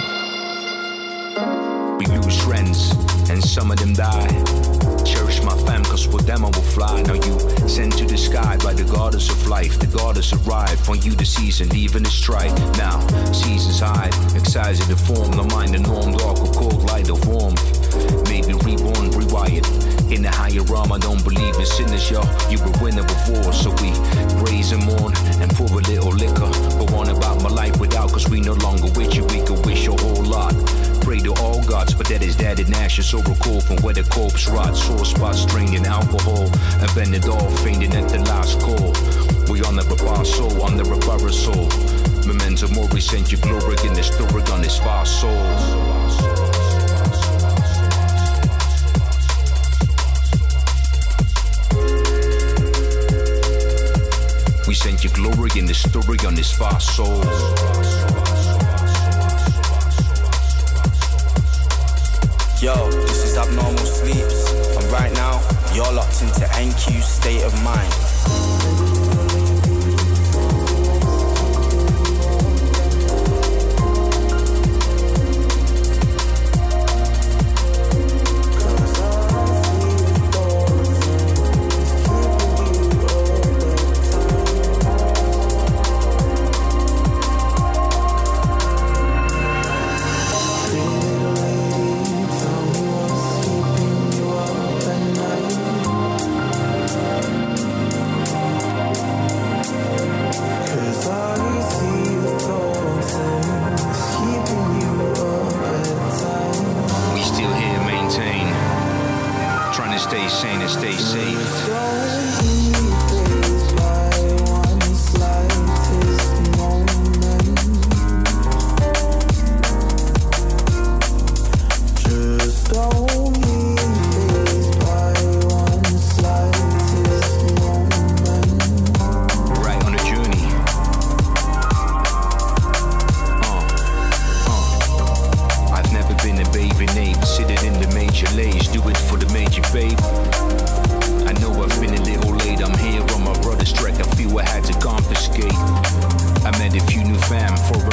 We lose friends and some of them die. Cherish my fam cause with them I will fly. Now you sent to the sky by the goddess of life. The goddess arrived for you the season leaving the strike. Now seasons high, excising the form. No mind the norm, dark or cold, light or warmth. Maybe reborn, rewired. In the higher realm I don't believe in sinners, yo. You were winner before, so we praise and mourn and pour a little liquor. But one about my life without, cause we no longer with you. We could wish a whole lot. Pray to all gods, but that is dead in ashes. Or recall from where the corpse rots. Sore spots draining alcohol. And then it all fainting at the last call. We honor a bar soul, under a bar soul. Memento mori, sent you glory in the story on this far soul. We sent you glory in the story on this far soul. Yo, this is Abnormal Sleeps, and right now, you're locked into N Q State of Mind.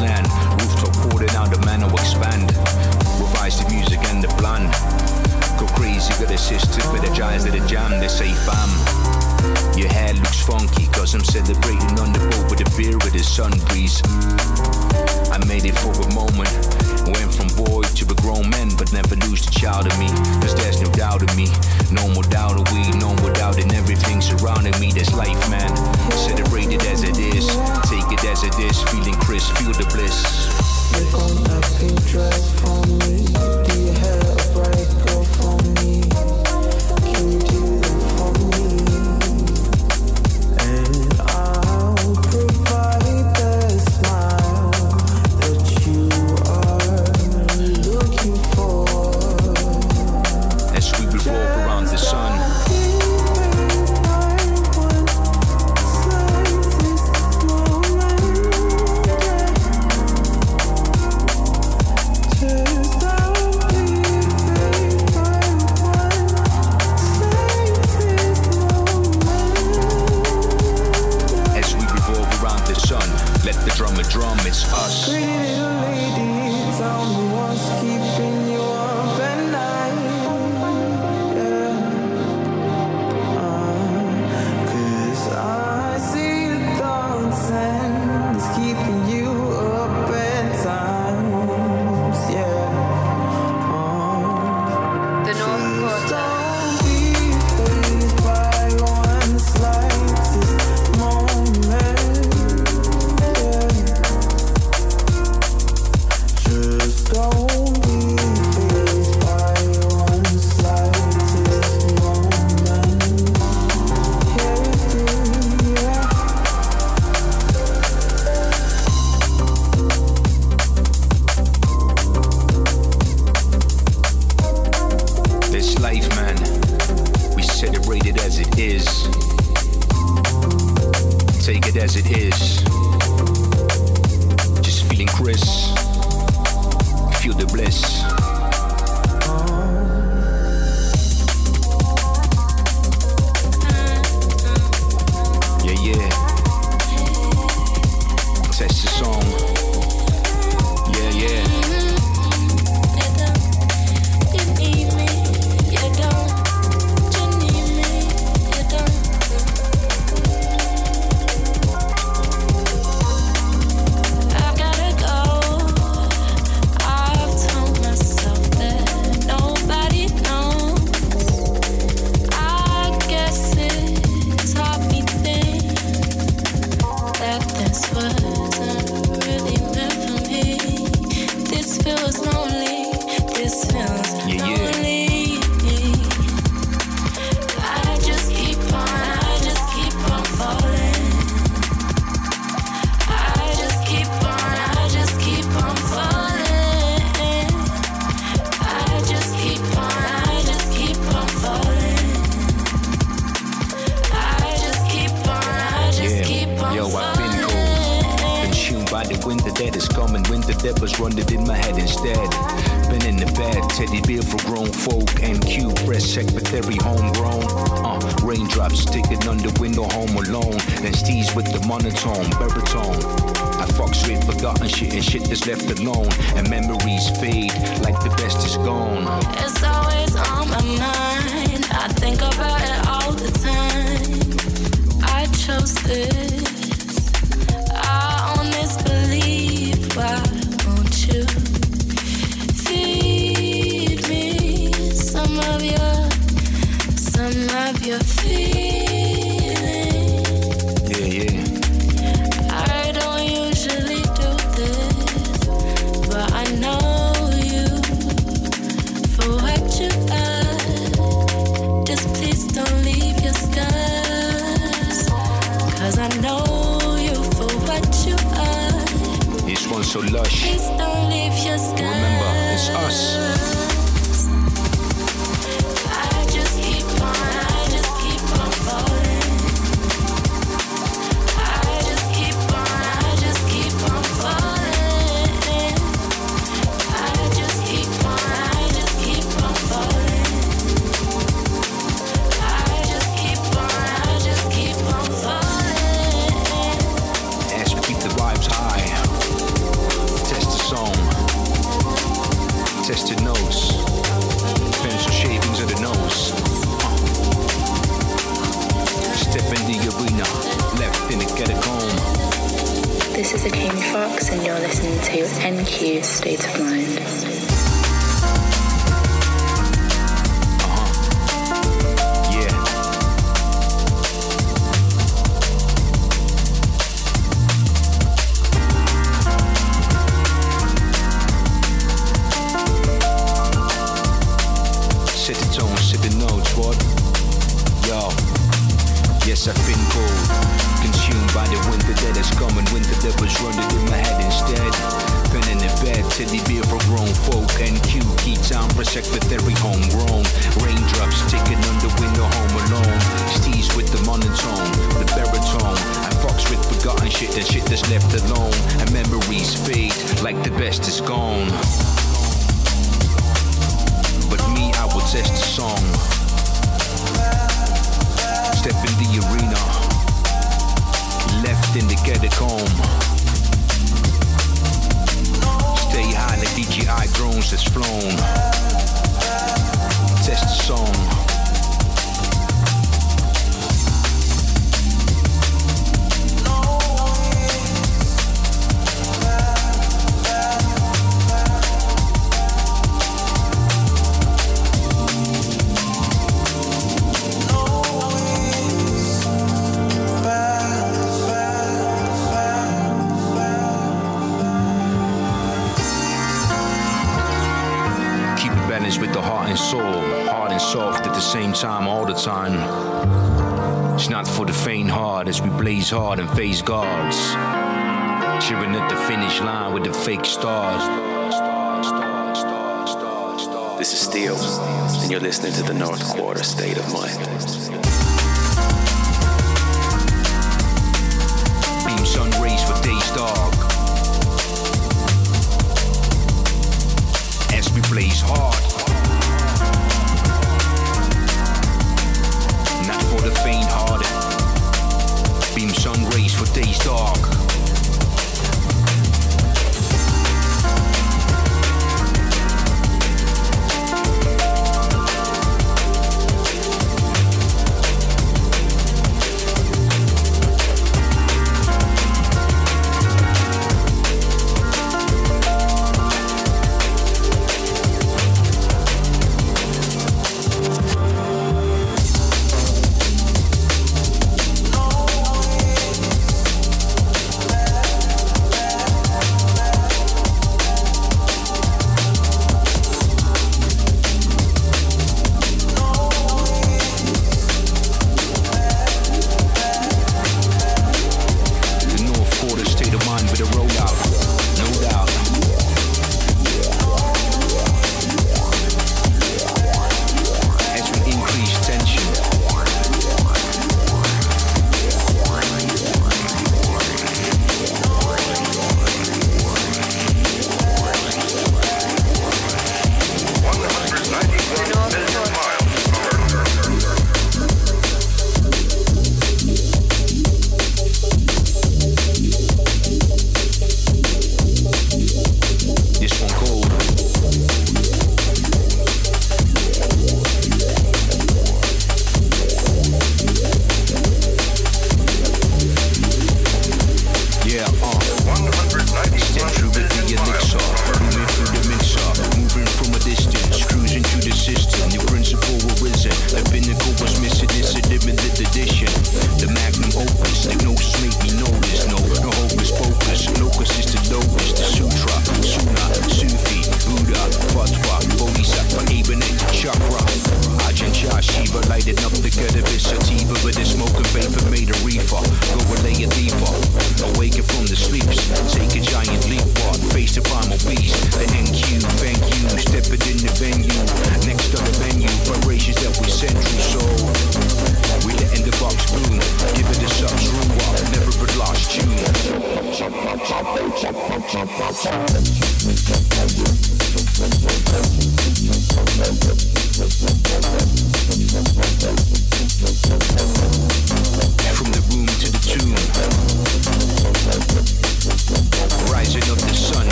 land. Rooftop pouring out the man will expand. Revise the music and the plan. Go crazy, got a sister with the giants of the jam. They say fam, your hair looks funky, cause I'm celebrating on the boat with a beer with the sun breeze. I made it for a moment, went from boy to a grown man, but never lose the child in me, cause there's no doubt in me. No more doubt of we, no more doubt in everything surrounding me. That's life, man. Celebrate it as it is, take it as it is, feeling crisp, feel the bliss. Make on that pink dress for me. Do you have a bright girl for me? Can you do that for me? And I'll provide the smile that you are looking for. As we revolve around the sun. Let the drummer drum, it's us. Pretty little lady, tell me what's keeping you up at night. Yeah. Uh, Cause I see the thoughts and it's keeping you up at times. Yeah. Uh, The North Quarter. Don't be fazed by one slightest moment. Don't be fazed by one slightest moment. Yeah, This life, man, we celebrate it as it is. Take it as it is. Just feeling crisp. Feel the bliss. Yeah, yeah. Test the song. Yeah, yeah. I gotta go. I've told myself that nobody knows. I guess it taught me things that this wasn't really meant for me. This feels lonely. This feels Yeah, yeah. lonely. I just keep on. I just keep on falling. I just keep on. I just keep on falling. I just keep on. I just keep on falling. I just keep on. I just Yeah. keep on Yo, I've been falling. cold. Been tuned by the winter that is coming. Winter that was running in my head instead. Been in the bed, teddy bear for grown folk. N Q press secretary homegrown. Uh, raindrops sticking on the window home alone. Then steez with the monotone, baritone. I fucks with forgotten shit and shit that's left alone. And memories fade like the best is gone. It's always on my mind. I think about it all the time. I chose this. I own this belief. Why won't you feed me some of your, some of your feelings? Yeah, yeah. I don't usually do this, but I know you for what you are. Just please don't leave your scars, 'cause I know you for what you are. This one's so lush. Please don't leave your scars. Remember, it's us. I just keep on, I just keep on falling. I just keep on, I just keep on falling. I just keep on, I just keep on falling. I just keep on, I just keep on falling. As we keep the vibes high. listening to N Q State of Mind. Set the tone, set the notes, what? Yo, yes, I've been cold, consumed by the winter that has come, and winter that was running in my head instead. Pen in the bed, teddy beer for grown folk, and Q, key time for secretary homegrown. Raindrops ticking on the window, home alone. Steez with the monotone, the baritone. I fucks with forgotten shit and shit that's left alone, and memories fade like the best is gone. But me, I will test the song. Step in the arena, left in the catacomb. Stay high like D J I drones that's flown. Test the song. With the heart and soul, hard and soft at the same time, all the time. It's not for the faint heart as we blaze hard and face guards, cheering at the finish line with the fake stars. This is Steel, and you're listening to the North Quarter State of Mind. Beam sun rays for days dark as we blaze hard. Not for the faint-hearted. Beam sun rays for days dark.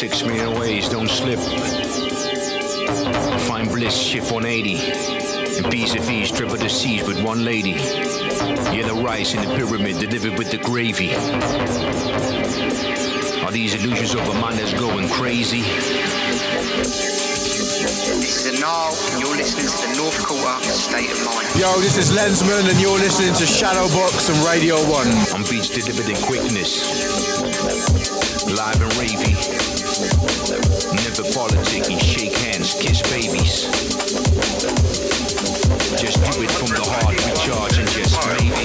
six million ways, don't slip. Find bliss, shift one eighty. And piece of ease, triple the seas with one lady. Yellow rice in the pyramid, delivered with the gravy. Are these illusions of a mind that's going crazy? This is Anal, and you're listening to the North Quarter State of Mind. Yo, this is Lensman, and you're listening to Shadowbox and Radio one. On beats delivered in quickness. Live and ravey. Never politicking, shake hands, kiss babies. Just do it from the heart, recharge and just maybe.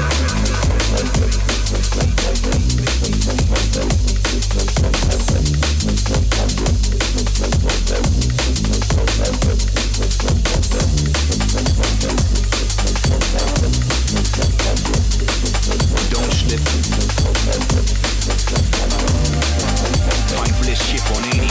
Don't slip. Find bliss, ship on eighty.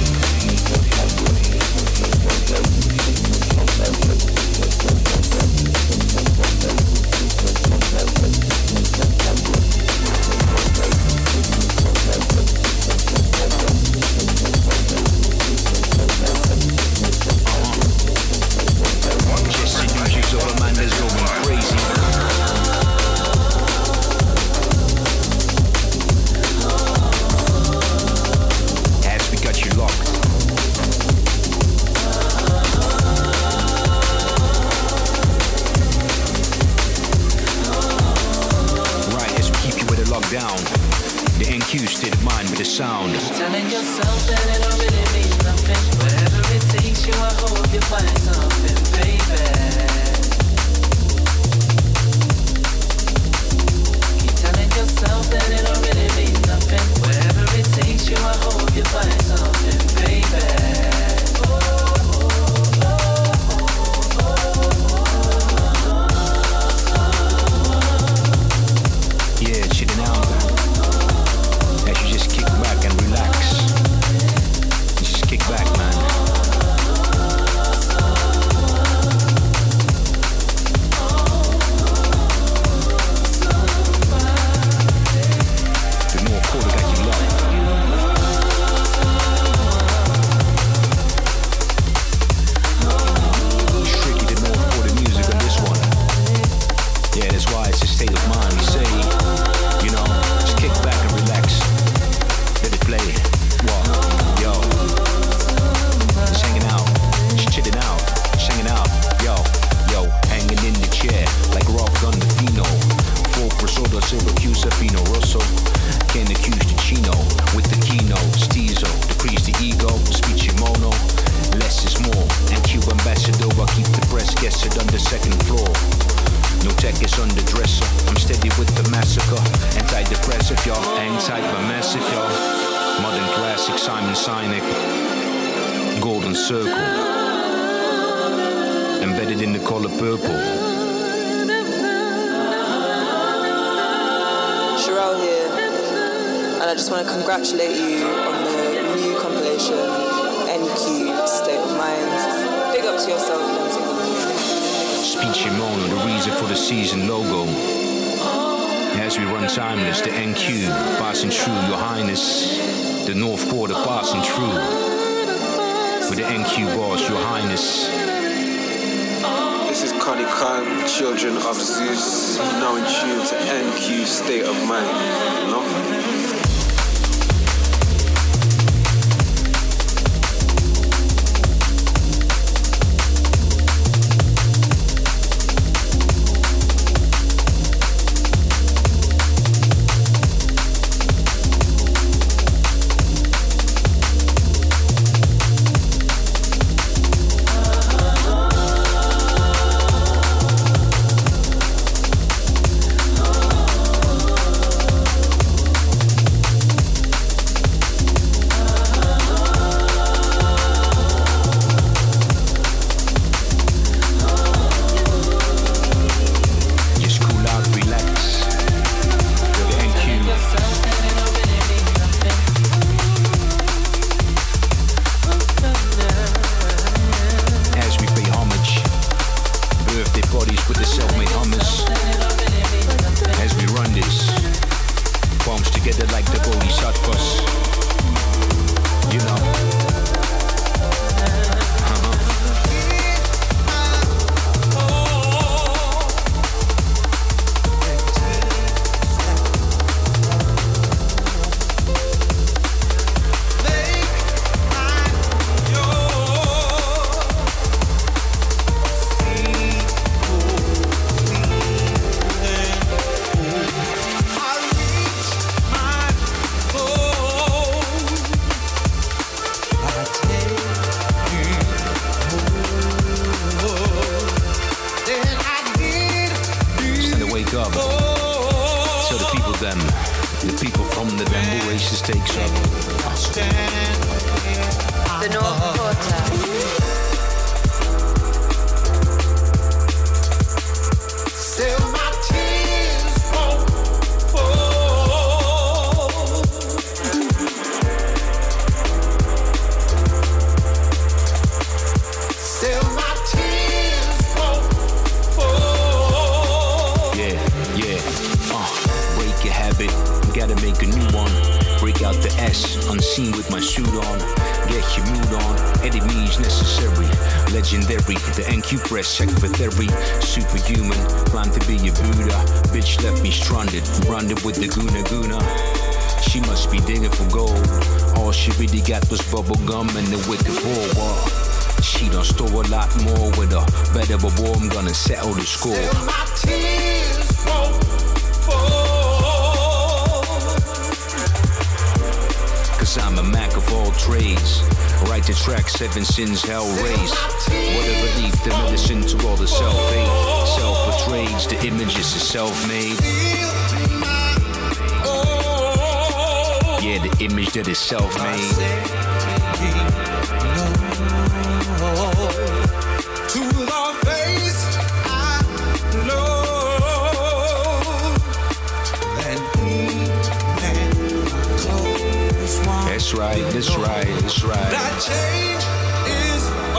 Sound. Telling yourself that it don't really mean nothing. Wherever it takes you, I hope you find something, baby. Keep telling yourself that it don't really mean nothing. Wherever it takes you, I hope you find something, baby. Yeah, chilling out. As you just kick back and relax. Just kick back, man. The North Quarter got you locked. Tricky, the North Quarter music on this one. Yeah, that's why it's a state of mind. We say, you know, just kick back and relax. Let it play. What? Yo. Just hanging out. Just chilling out. Just hanging out. Yo. Yo. Hanging in the chair like Rob Gandolfino. Folk Rosoda, Syracuse, Fino Rosso. Can't accuse the Chino with the keynote. Stizo. Decrease the ego. Speech mono. Less is more. And Q ambassador. I keep the press guessed on the second floor. No tech is on the dresser. I'm steady with the massacre. Antidepressive, y'all. Hang tight, but massive, y'all. Modern classic, Simon Sinek. Golden Circle. Embedded in the color purple. Sherelle here. And I just want to congratulate you on the new compilation, N Q State of Mind. Big up to yourself, Lensman. Speech mono, the reason for the season logo. As we run timeless, the N Q passing through, Your Highness. The North Quarter passing through. With the N Q boss, Your Highness. This is Connie Khan, Children of Zeus, now in tune to N Q State of Mind. You know? Oasis takes up. The North Quarter. Still my tears won't fall. Still my tears won't fall. Yeah, yeah. Uh, break your habit, gotta make a new one. Break out the S, unseen with my suit on. Get your mood on, enemies necessary. Legendary, the N Q press check for therapy. Superhuman, plan to be a Buddha. Bitch left me stranded, branded with the Guna Guna. She must be digging for gold. All she really got was bubble gum and the wicked forward. She done stole a lot more with a better but war. I'm gonna settle the score. Still my tears won't fall. Cause I'm a Mac of all trades. Write the track, seven sins, hell raised. What a relief, the medicine to all the self-hate. Self-betrayed, the images are self-made. Yeah, the image that is self-made. To the face I know that he had close one. That's right, that's right, that's right. That change is a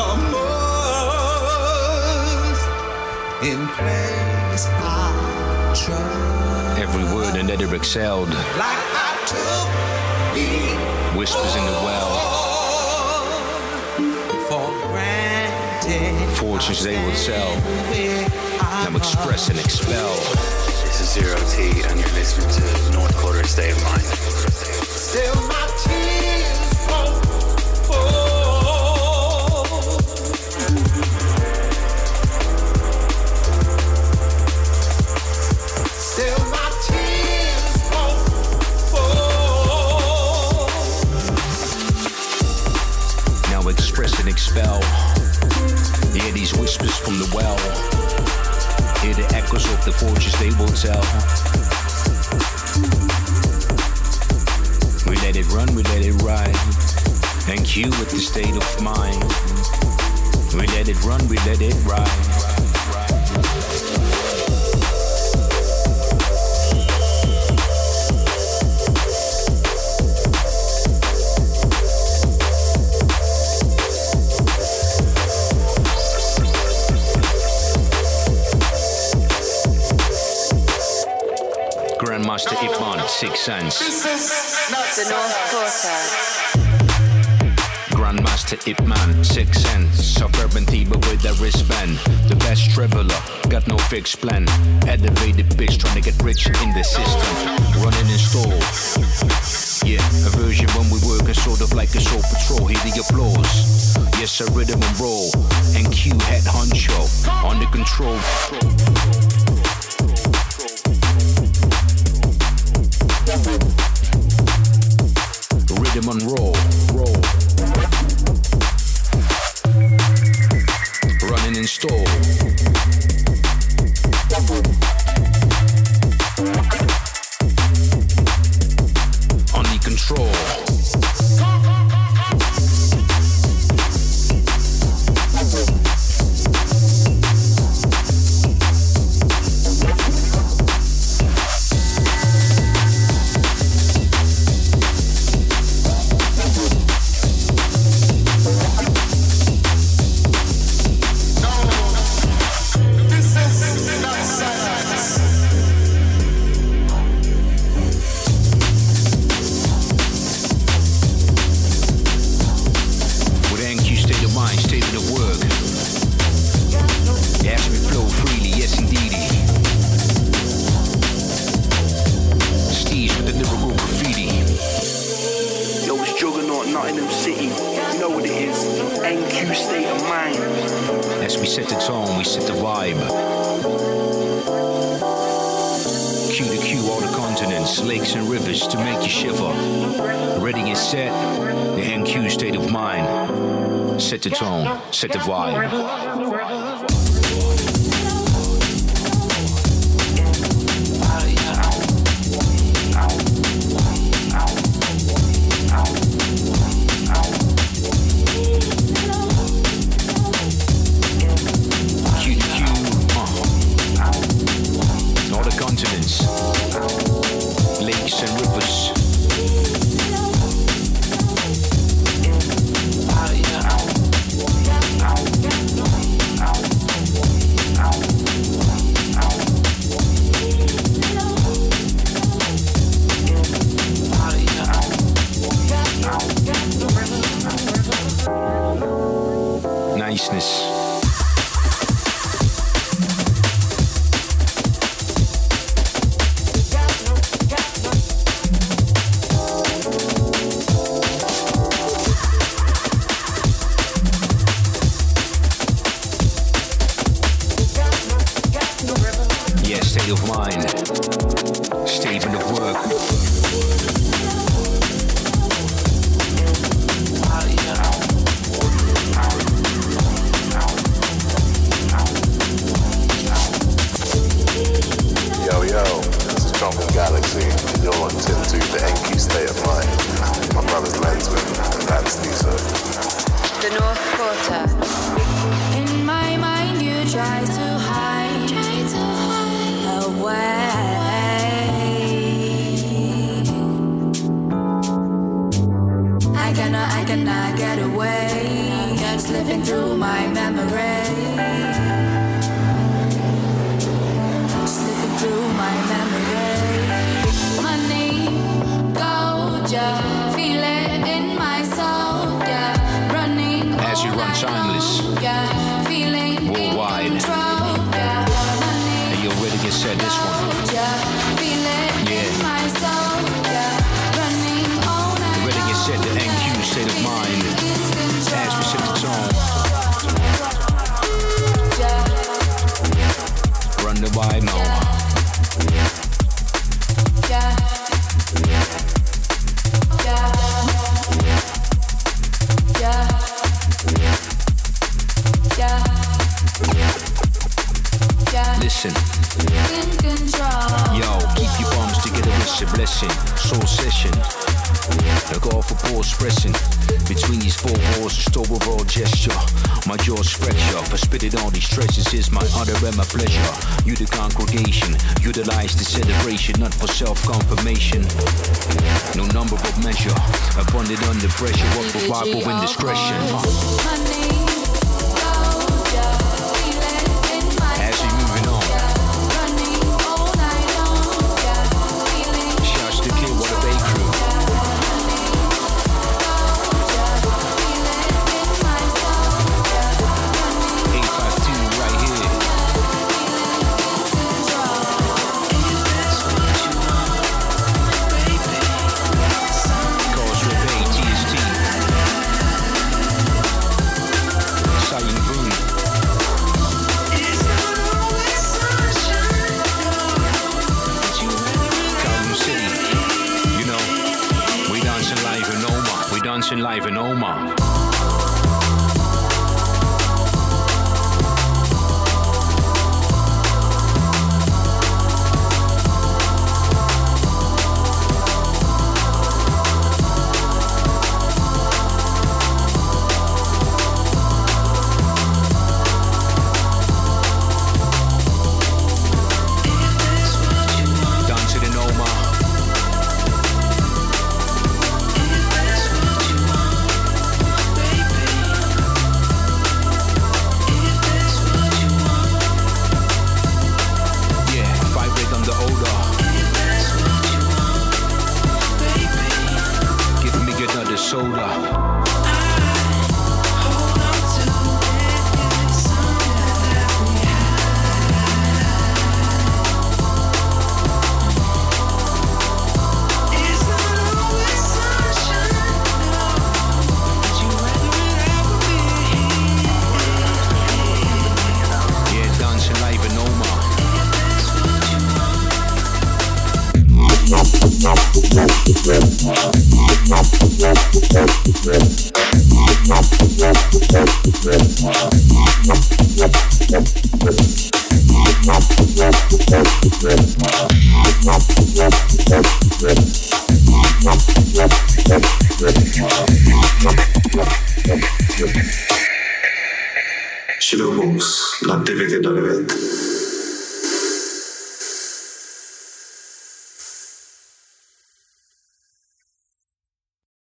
must. In place I trust. Every word and letter excelled. Like I took me Whispers in the well. for granted. Fortunes they will tell. Now express and expel. This is Zero T, and you're listening to North Quarter State of Mind. Still my tears won't fall. Still my tears won't fall. Now express and expel. Hear these whispers from the well. Hear the echoes of the fortunes they will tell. We let it run, we let it ride. And Q with the state of mind. We let it run, we let it ride. Grandmaster Ipman, Six Sense. The North Quarter. Grandmaster Ipman, Six Sense. Suburban Tiba with a wristband. The best traveler, got no fixed plan. Elevated bitch trying to get rich in the system. Running in stall. Yeah, a version when we working sort of like a soul patrol. Hear the applause. Yes, a rhythm and roll. And Q head honcho. Under control. Rhythm and roll, roll. Running in stall. Under control. Set the tone, set the vibe. cannot, I cannot get away. Just living through my memory. Slipping through my memory. Money, gold, yeah. Feel it in my soul, yeah. Running as you run timeless, yeah. Feeling worldwide. in control, yeah. Money, and you already get said this one. yeah. Feel it Yeah. in my soul, yeah. Running all night. You already get said the N Q state of mind. As we set the tone. Run the vibe now. Yeah. Yeah. Yeah. Yeah. Yeah. Listen. In control. Yo, keep your bums together, it's a blessing. Soul session. Look off for pause pressing. Between these four walls, just overall gesture. My jaw's fracture. For spitting all these treasures is my honor and my pleasure. You the congregation, utilize the celebration, not for self-confirmation. No number but measure. Abundant under pressure, work for Bible indiscretion. As we moving on. Shouts to Kid What a Bay Crew. eight five two right here. Cause Rebay T S T. Saying Boom. Calvin City. You know, we dancing live in Oma. We dancing live in Oma. Dancing in Oma. Yeah, five big on the odor. Give me another soda. Yeah, dancing live in Oma. Shadowbox na devět jedna devět.